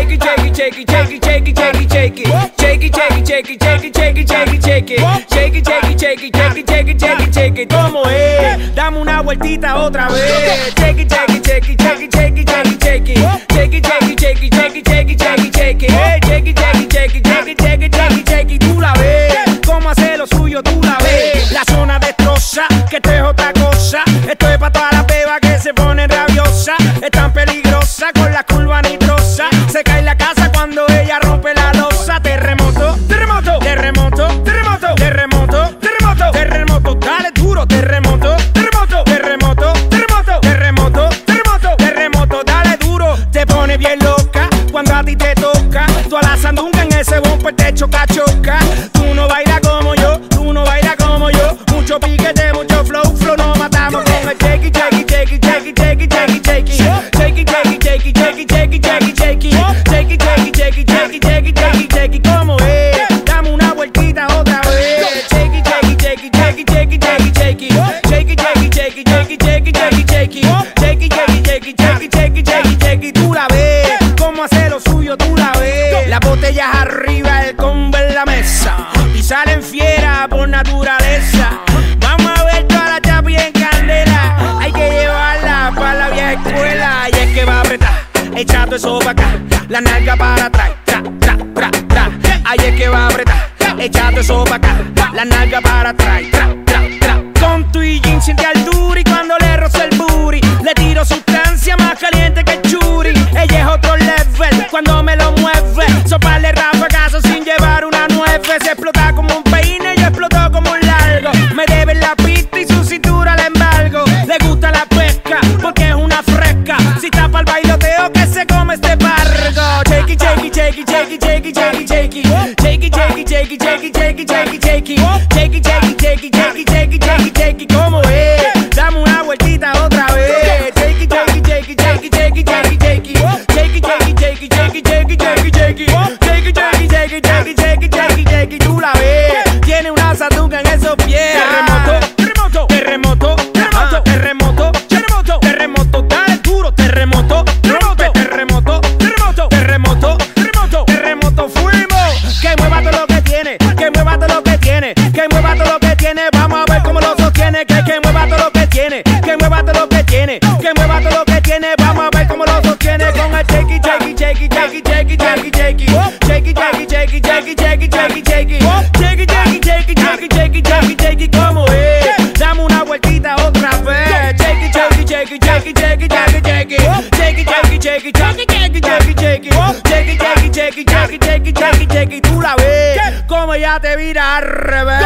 Shake it, shake it, shake it, shake it, shake it, shake it, shake it. Shake it, shake it, shake it, shake it, shake it, shake it, shake it. Shake it, shake it, shake it, shake it, shake it, shake it, shake it. ¿Cómo es? Dame una vueltita otra vez. Shake it, shake it, shake it, shake it, shake it, shake it, shake it. Shake it, shake it, shake it, shake it, shake it, shake it, shake it. Shake it, shake it, shake it, shake it, shake it, shake it, shake it. Tú la ves. Cómo hace lo suyo, tú la ves. La zona destroza, que esto es otra cosa. Esto es pa' todas las bebas que se ponen rabiosas. Es tan peligrosa con la curva nitrosa. Se cae la casa cuando ella rompe la losa. Terremoto, terremoto, terremoto, terremoto, terremoto, terremoto, terremoto, dale duro, terremoto, terremoto, terremoto, terremoto, terremoto, terremoto, terremoto, dale duro. Te pone bien loca cuando a ti te toca. Tú a la sandunga en ese bumper te choca, choca. Tú no bailas como yo, tú no bailas como yo. Mucho piquete, mucho flow, flow, nos matamos con el shake it, shake it, shake it, shake it, shake it, shake it, shake it. Shake it, shake it, shake it, shake it, shake it, shake it, shake it. Shake it, shake it, shake it, shake it, shake it, shake it, shake it. ¿Cómo es? Dame una vueltita otra vez. Shake it, shake it, shake it, shake it, shake it, shake it, shake it. Shake it, shake it, shake it, shake it, shake it, shake it, shake it. Shake it, shake it, shake it, shake it, shake it, shake it, shake it. Tú la ves. Cómo hace lo suyo, tú la ves. Las botellas arriba, el combo en la mesa. Y salen fieras por naturaleza. Vamos a ver toda la chapi en candela. Hay que llevarla para la vieja escuela. Y es que va a apretar, echando eso para acá. La nalga para atrás, tra, tra, tra, tra. Ahí es que va a apretar, echando eso para acá. La nalga para atrás, tra, tra, tra. Con tu y jean siente altura y cuando le rozo el booty le tiro sustancia más caliente que el churi. Ella es otro level cuando me lo mueve. Soparle rafagazo sin llevar una nueve. Se explota como un peine y explotó como un largo. Me debe la pista y su cintura la embargo. Le gusta la pesca porque es una fresca. Si tapa el bailoteo que se come este pargo. Shake it, shake it, shake it, shake it, shake it, shake it, shake it. Shake it, shake it, shake it, shake it, shake it, shake it, shake it. Shake it, shake it, shake it, shake it, shake it, shake it, shake it. ¿Cómo es? Dame una vueltita otra vez. Shake it, shake it, shake it, shake it, shake it, shake it, shake it. Shake it, shake it, shake it, shake it, shake it, shake it, shake it. Shake it, shake it, shake it, shake it, shake it, shake it, shake it. Tú la ves. Tiene una sandunga en esos pies. Terremoto, terremoto, terremoto, terremoto, terremoto, terremoto, terremoto, dale duro, terremoto, terremoto, terremoto, terremoto, terremoto, terremoto, terremoto, fuimos. Que mueva todo lo que tiene, que mueva todo lo que tiene, que mueva todo lo que tiene. Vamos a ver cómo lo sostiene, que mueva todo lo que tiene, que mueva todo lo que tiene, que mueva todo lo que tiene. Vamos a ver cómo lo sostiene con el shake it, shake it, shake it, shake it, shake it, shake it, shake it. Shake it, shake it, shake it, shake it, shake it, shake it, shake it. Shake it, shake it, shake it, shake it, shake it, shake it, shake it. ¿Cómo es? Dame una vueltita otra vez. Shake it, shake it, shake it, shake it, shake it, shake it, shake it. Shake it, shake it, shake it, shake it, shake it, shake it, shake it. Shake it, shake it, shake it, shake it, shake it, shake it, shake it. Tú la ves como ya te vira al revés.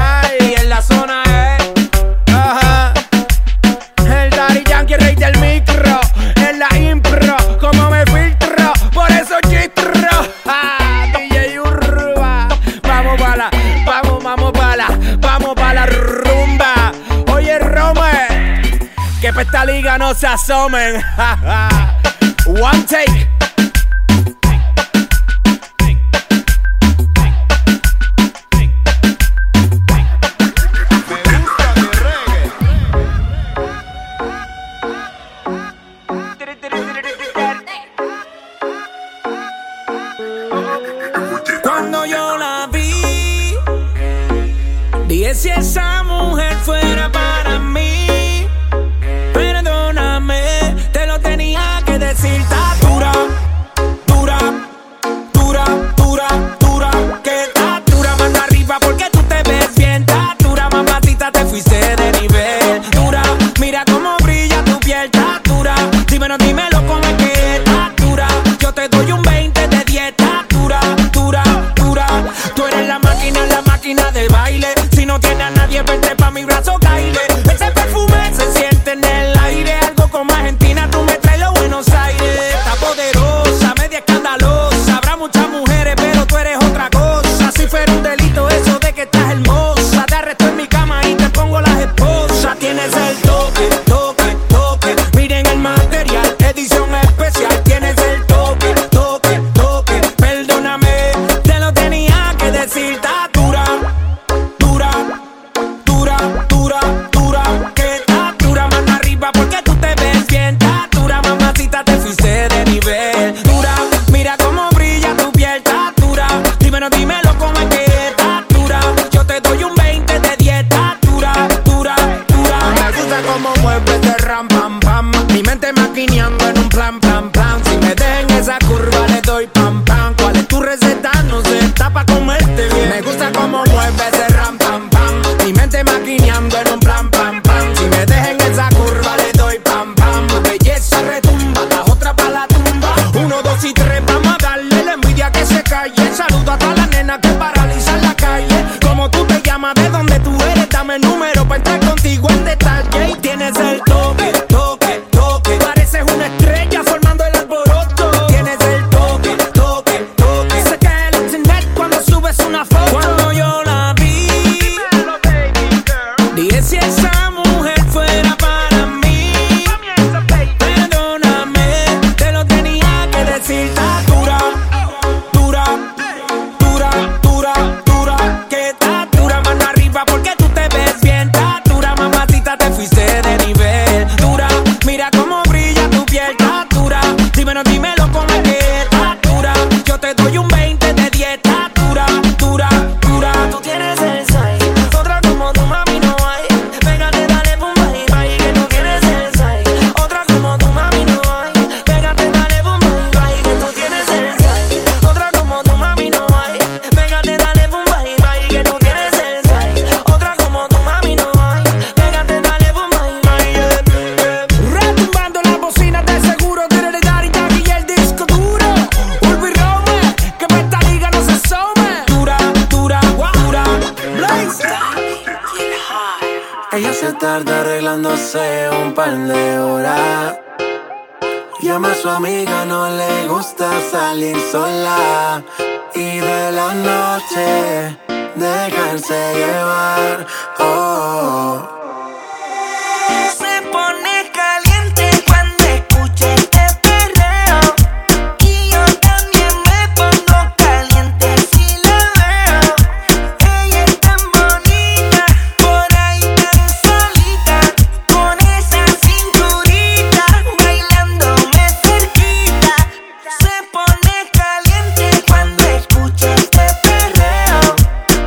Y en la zona es el Daddy Yankee, rey del micro. En la impro, como me filtro, por eso chistro. DJ Urba, vamos pa' la, vamos pa' la rumba. Oye, Rome, que pa' esta liga no se asomen. One take. Cuando yo la vi, dije si esa mujer fuera para mí. Perdóname, te lo tenía que decir. Está dura, dura, dura, dura, dura. Que está dura, mano arriba porque tú te ves bien. Está dura, mamacita, te fuiste de nivel. Dura, mira cómo brilla tu piel. Está dura, dímelo, dímelo cómo es que está dura. Yo te doy un 20 de dieta. Dura, dura, dura. Tú eres la máquina de baile. Si no tienes a nadie, vente pa' mi brazo, caile. Ese perfume se siente en el aire. Algo como Argentina, tú me traes los Buenos Aires. Está poderosa, media escandalosa. Habrá muchas mujeres, pero tú eres otra cosa. Si fuera un delito eso de que estás hermosa, te arresto en mi cama y te pongo las esposas. Tienes el toque, toque, toque. Miren el material, edición especial. Tienes el toque, toque, toque. Perdóname, te lo tenía que decir. Está dura, dura, dura, dura. ram, pam, pam. Mi mente maquineando en un plan, plan, plan. Si me dejan esa curva le doy pam, pam. ¿Cuál es tu receta? No sé, está pa' comerte bien. Me gusta como mueve ese ram, pam, pam. Mi mente maquineando en un plan, pam, pam. Si me dejan esa curva le doy pam, pam. Tu belleza retumba, la otra pa' la tumba. 1, 2 y 3, vamos a darle la envidia que se calle. Saludo a todas las nenas que paralizan la calle. Como tú te llamas, de dónde tú eres, dame el número pa' entrar contigo en detalle. Y tienes el toque, toque, toque. Pareces una estrella formando el alboroto. Tienes el toque, toque, toque. Se cae el internet cuando subes una foto. Cuando yo la vi, dije si esa mujer fuera para mí. Perdóname, te lo tenía que decir. Está dura, dura, dura, dura, dura. Que está dura, mano arriba porque tú te ves bien. Está dura, mamacita, te fuiste de nivel. Dura, mira cómo brilla tu piel. Está dura, dímelo con el que está dura. Yo te doy un 20 de 10. Está dura, dura, dura. Tú tienes el size, otra como tu mami no hay. Pégate, dale pum, bye, bye, que tú tienes el size. Otra como tu mami no hay. Pégate, dale pum, bye, bye, que tú tienes el size. Otra como tu mami no hay. Pégate, dale pum, bye, bye, que tú tienes el size. Otra como tu mami no hay. Pégate, dale pum, bye, bye. Retumbando las bocinas de seguro. Tiene Daddy Yankee y el disco duro. Ulvi Rome, que pa' esta liga no se asome. Dura, dura, dura. Blaze. Ella se tarda arreglándose un par de horas. Llama a su amiga, no le gusta salir sola. Y de la noche dejarse llevar. Oh. Se pone caliente cuando escucha este perreo. Y yo también me pongo caliente si la veo. Ella es tan bonita, por ahí tan solita. Con esa cinturita, bailándome cerquita. Se pone caliente cuando escucha este perreo.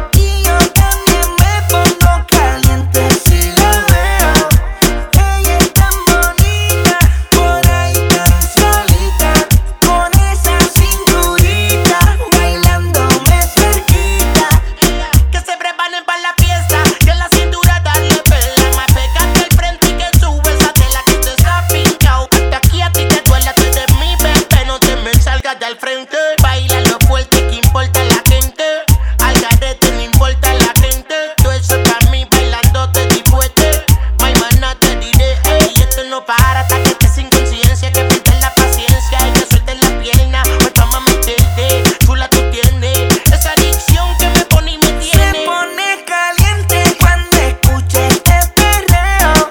Y yo también me pongo caliente si la veo. Ella es tan bonita, por ahí tan solita. Con esa cinturita, bailándome cerquita. Que se preparen para la fiesta, que la cintura darle pela. Más pégate al frente y que sube esa tela que te está pinchao. Hasta aquí a ti te duele, tú eres mi bebé, no te me salgas del frente. Baila lo fuerte, que importa la gente. Al garete no importa la gente. Todo eso para mí bailando te di fuerte. My mana te diré, ey, esto no para hasta que estés sin conciencia. Que pierdes la paciencia y que sueltes la pierna. Pues vamos a meterte, chula tú tienes esa adicción que me pone y me tiene. Se pone caliente cuando escucha este perreo.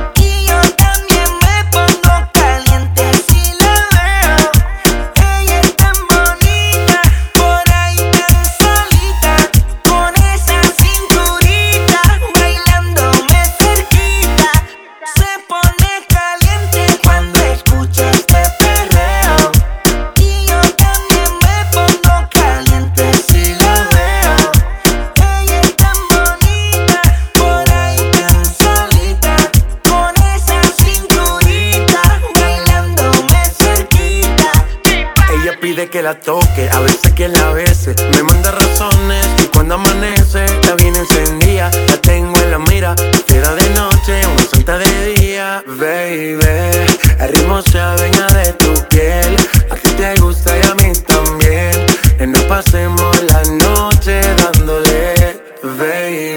Y yo también me pongo caliente si la veo. Ella es tan bonita, por ahí tan solita. Con esa cinturita, bailándome cerquita. Se pone caliente cuando escucha este perreo. Y yo también me pongo caliente si la veo. Ella es tan bonita, por ahí tan solita. Con esa cinturita, bailándome cerquita. Ella pide que la toque, a veces que la bese. Me manda razones y cuando amanece la viene encendida. La tengo en la mira, fiera de noche, una santa de día. Baby, el ritmo se adueña de tu piel. A ti te gusta y a mí también. No pasemos la noche dándole. Baby,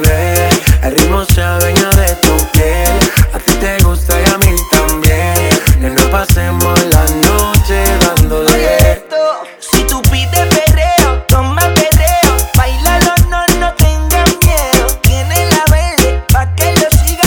el ritmo se adueña de tu piel. A ti te gusta y a mí también. No pasemos la noche dándole. Si tú pides perreo, toma perreo. Bailalo, no tengas miedo. Tiene la verde pa' que lo siga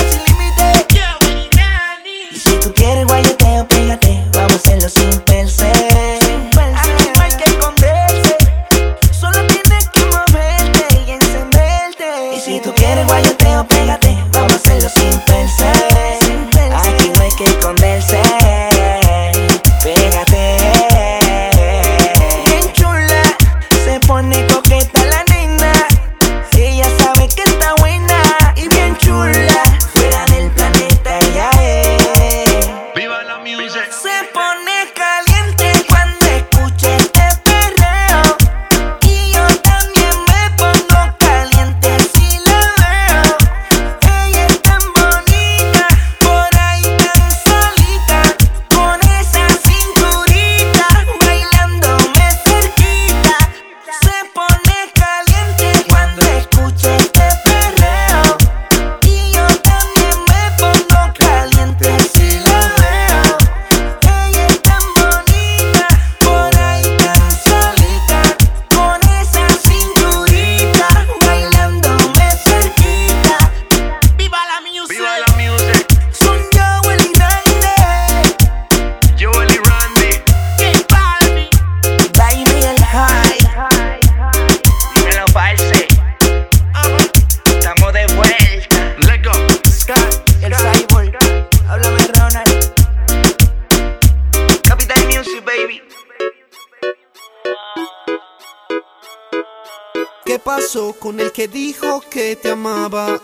pasó con el que dijo que te amaba?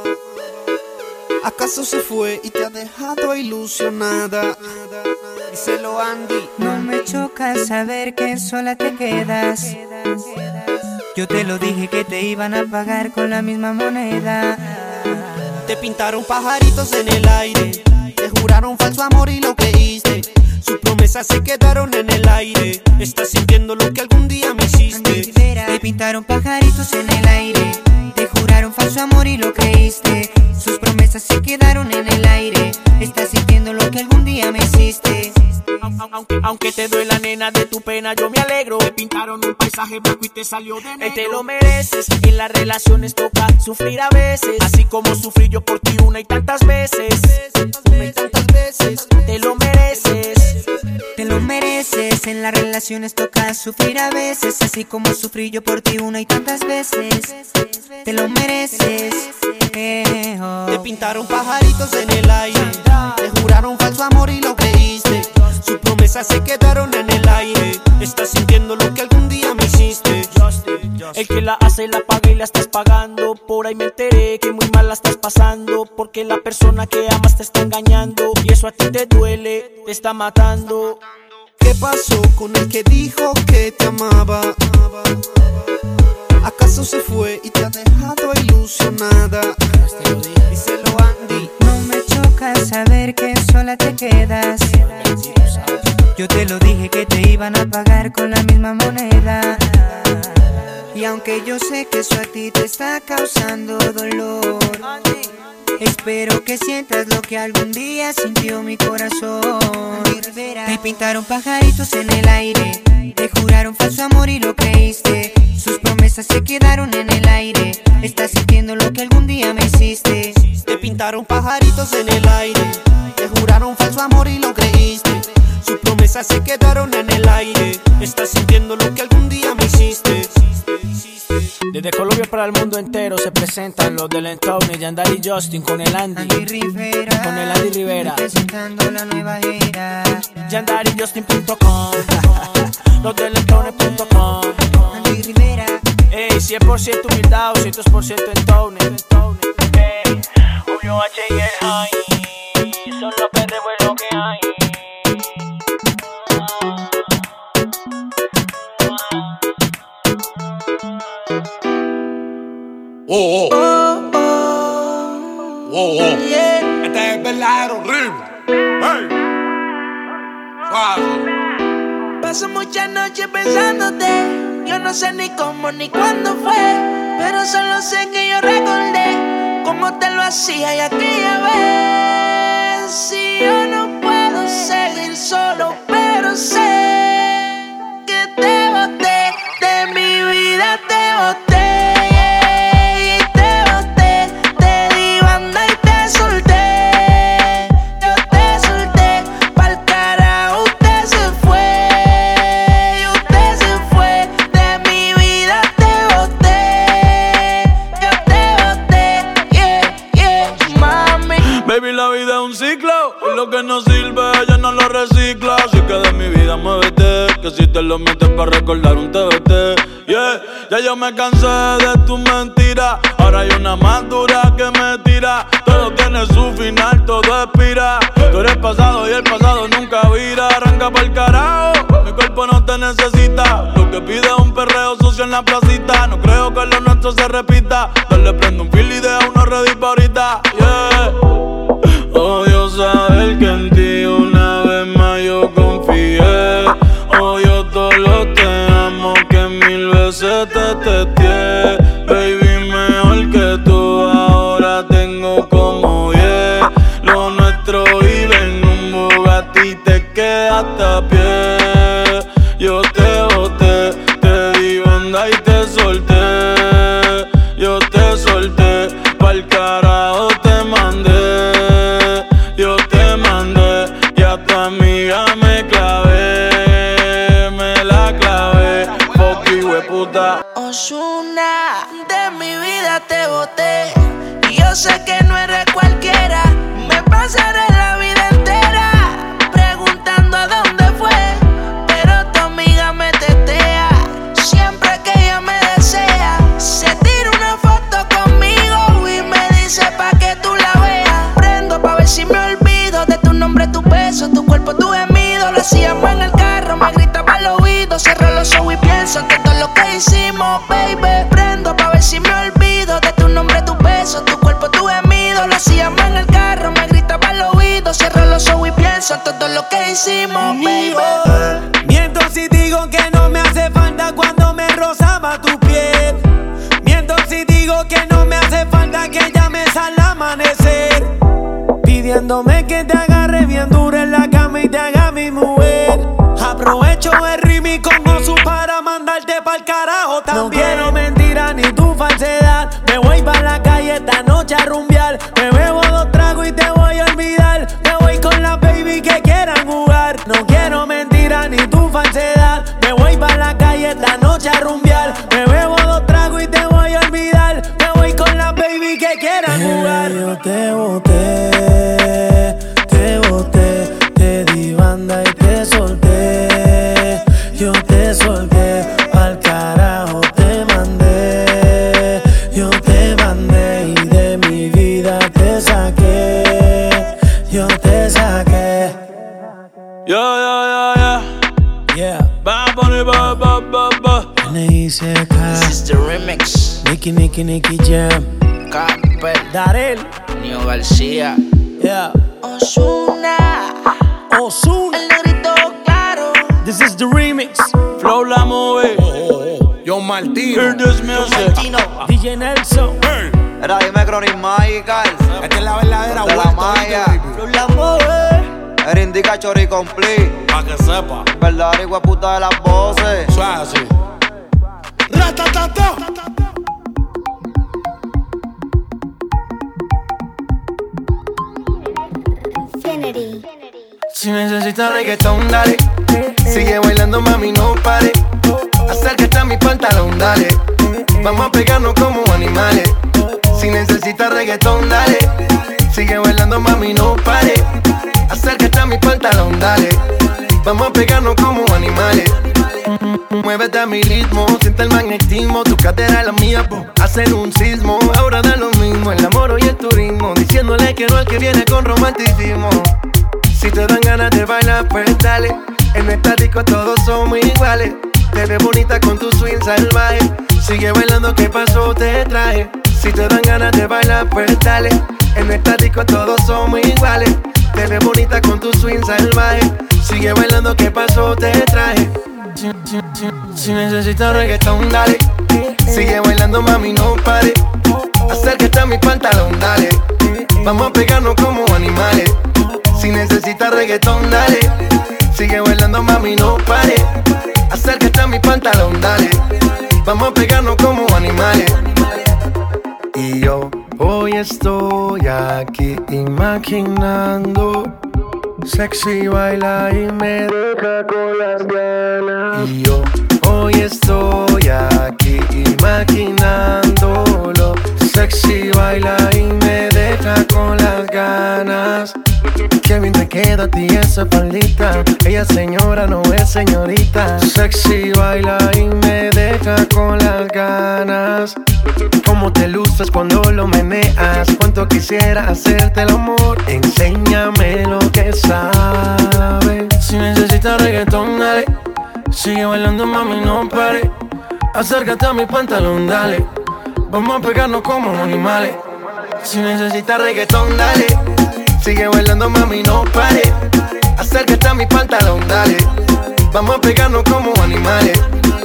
¿Acaso se fue y te ha dejado ilusionada? Díselo, Andy. No me choca saber que sola te quedas. Yo te lo dije que te iban a pagar con la misma moneda. Te pintaron pajaritos en el aire, te juraron falso amor y lo creíste. Sus promesas se quedaron en el aire. Estás sintiendo lo que algún día me hiciste. Te pintaron pajaritos en el aire, te juraron falso amor y lo creíste. Sus promesas se quedaron en el aire. Estás sintiendo lo que algún día me hiciste. Aunque te duela, nena, de tu pena yo me alegro. Te pintaron un paisaje blanco y te salió de negro. Te lo mereces, en las relaciones toca sufrir a veces, así como sufrí yo por ti una y tantas veces. Una y tantas veces. Te lo mereces. Te lo mereces, en las relaciones toca sufrir a veces, así como sufrí yo por ti una y tantas veces. Te lo mereces. Te pintaron pajaritos en el aire, te juraron falso amor y lo creíste. Sus promesas se quedaron en el aire. Estás sintiendo lo que algún día me hiciste. El que la hace la paga y la estás pagando. Por ahí me enteré que muy mal la estás pasando, porque la persona que amas te está engañando, y eso a ti te duele, te está matando. ¿Qué pasó con el que dijo que te amaba? ¿Acaso se fue y te ha dejado ilusionada? Díselo, Andy. No me choca saber que sola te quedas. Yo te lo dije que te iban a pagar con la misma moneda. Y aunque yo sé que eso a ti te está causando dolor, espero que sientas lo que algún día sintió mi corazón. Te pintaron pajaritos en el aire, te juraron falso amor y lo creíste. Sus promesas se quedaron en el aire. Estás sintiendo lo que algún día me hiciste. Te pintaron pajaritos en el aire, te juraron falso amor y lo creíste. Sus promesas se quedaron en el aire. Estás sintiendo lo que algún día me hiciste. Desde Colombia para el mundo entero se presentan los del Entowney, Yandari y Justin con el Andy Rivera, con el Andy Rivera, presentando la nueva era. YandariJustin.com, los del Entowney.com. Andy Rivera, ey, 100% humildad, 200% Entowney. Ey, Julio H y el High, son los perros lo que hay. Oh, oh. Oh, oh. Yeah. Este es el verdadero ritmo. Hey. Suave. Paso muchas noches pensándote. Yo no sé ni cómo ni cuándo fue, pero solo sé que yo recordé cómo te lo hacía y aquella vez. Si yo no puedo seguir solo, pero sé que te boté, de mi vida te boté. Baby, la vida es un ciclo y lo que no sirve ya no lo recicla. Así que de mi vida muévete, que si te lo metes para recordar un TBT. Yeah, ya yo me cansé de tus mentiras. Ahora hay una más dura que me tira. Todo tiene su final, todo expira. Tú eres pasado y el pasado nunca vira. Arranca pa'l carajo, mi cuerpo no te necesita. Lo que pide es un perreo sucio en la placita. No creo que lo nuestro se repita. Dale, prende un fil y deja uno ready pa' ahorita. Yeah. Odio saber que en ti una vez más yo confié. Odio todo lo te amo que mil veces te testé. Baby, mejor que tú ahora tengo como 10. Lo nuestro vive en un Bugatti, te quedaste a pie. Yo te boté, te di banda y te solté. Yo te solté, pa'l carajo te mandé. Yo te mandé y a tu amiga me clavé, me la clavé, fuck you, hueputa. Ozuna, de mi vida te boté, y yo sé que no eres cualquiera. Me pasaré la vida entera preguntando a dónde fue los ojos y pienso en todo lo que hicimos, baby. Prendo pa' ver si me olvido de tu nombre, tu beso, tu cuerpo, tu gemido. Lo hacíamos en el carro, me gritaba al oído. Cierro los ojos y pienso en todo lo que hicimos, baby. Miento si digo que no me hace falta cuando me rozaba tu piel. Miento si digo que no me hace falta que llames al amanecer, pidiéndome que te agarre bien duro en la cama y te haga mi mujer. Aprovecho el remix con Osu para mandarte pa'l carajo también. No quiero mentira ni tu falsedad. Me voy pa' la calle esta noche a rumbear. Me bebo 2 tragos y te voy a olvidar. Me voy con la baby que quieran jugar. No quiero mentira ni tu falsedad. Me voy pa' la calle esta noche a rumbear. Me bebo 2 tragos y te voy a olvidar. Me voy con la baby que quieran jugar. Yo te boté, te di banda y te solté. Yo te solté, pa'l carajo te mandé. Yo te mandé y de mi vida te saqué. Yo te saqué. Yeah. Bad Bunny, ba. N.I.C.K. This is the remix. Nicky Jam. Camper, Darel, Nio García, yeah. Ozuna, el negrito claro. This is the remix. Flow la movie. Yo Martino. Hear this music. DJ Nelson. Era dime Chronic Magical. Esta es la verdadera De la vuelta, Maya. baby. La mueve. Era indica Chori Complete. Pa' que sepa. Verdadera hijueputa de las voces. Eso es así. Ratatata. Si necesitas reggaetón, dale. Sigue bailando, mami, no pare. Acércate a mi pantalón, dale. Vamos a pegarnos como animales. Si necesitas reggaetón, dale. Sigue bailando, mami, no pare. Acércate a mi pantalón, dale. Vamos a pegarnos como animales. Muévete a mi ritmo, siente el magnetismo. Tu cadera es la mía, hacen un sismo. Ahora da lo mismo, el amor y el turismo. Diciéndole que no al que viene con romanticismo. Si te dan ganas de bailar, pues dale. En esta disco todos somos iguales. Te ves bonita con tu swing salvaje. Sigue bailando, ¿qué pasó? Te traje. Si te dan ganas de bailar, pues dale. En esta disco todos somos iguales. Te ves bonita con tu swing salvaje. Sigue bailando, ¿qué pasó? Te traje. Si necesitas reggaetón, dale. Sigue bailando, mami, no pare. Acércate a mi pantalón, dale. Vamos a pegarnos como animales. Si necesitas reggaetón, dale. Sigue bailando, mami, no pare. Acércate a mi pantalón, dale. Vamos a pegarnos como animales. Y yo hoy estoy aquí imaginando. Sexy baila y me deja con las ganas. Y yo hoy estoy aquí imaginándolo. Sexy baila y me deja con las ganas. Qué bien te queda a ti esa faldita. Ella señora, no es señorita. Sexy baila y me deja con las ganas. Cómo te luces cuando lo meneas. Cuánto quisiera hacerte el amor. Enséñame lo que sabes. Si necesitas reggaetón, dale. Sigue bailando, mami, no pare. Acércate a mi pantalón, dale. Vamos a pegarnos como animales. Si necesitas reggaetón, dale. Sigue bailando, mami, no pare. Acércate a mi pantalón, dale. Vamos a pegarnos como animales.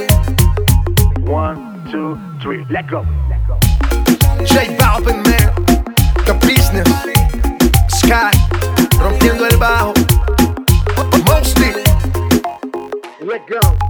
1, 2, 3, let's go. J Balvin, man. The Business. Sky. Rompiendo el bajo. Mostly. Let's go.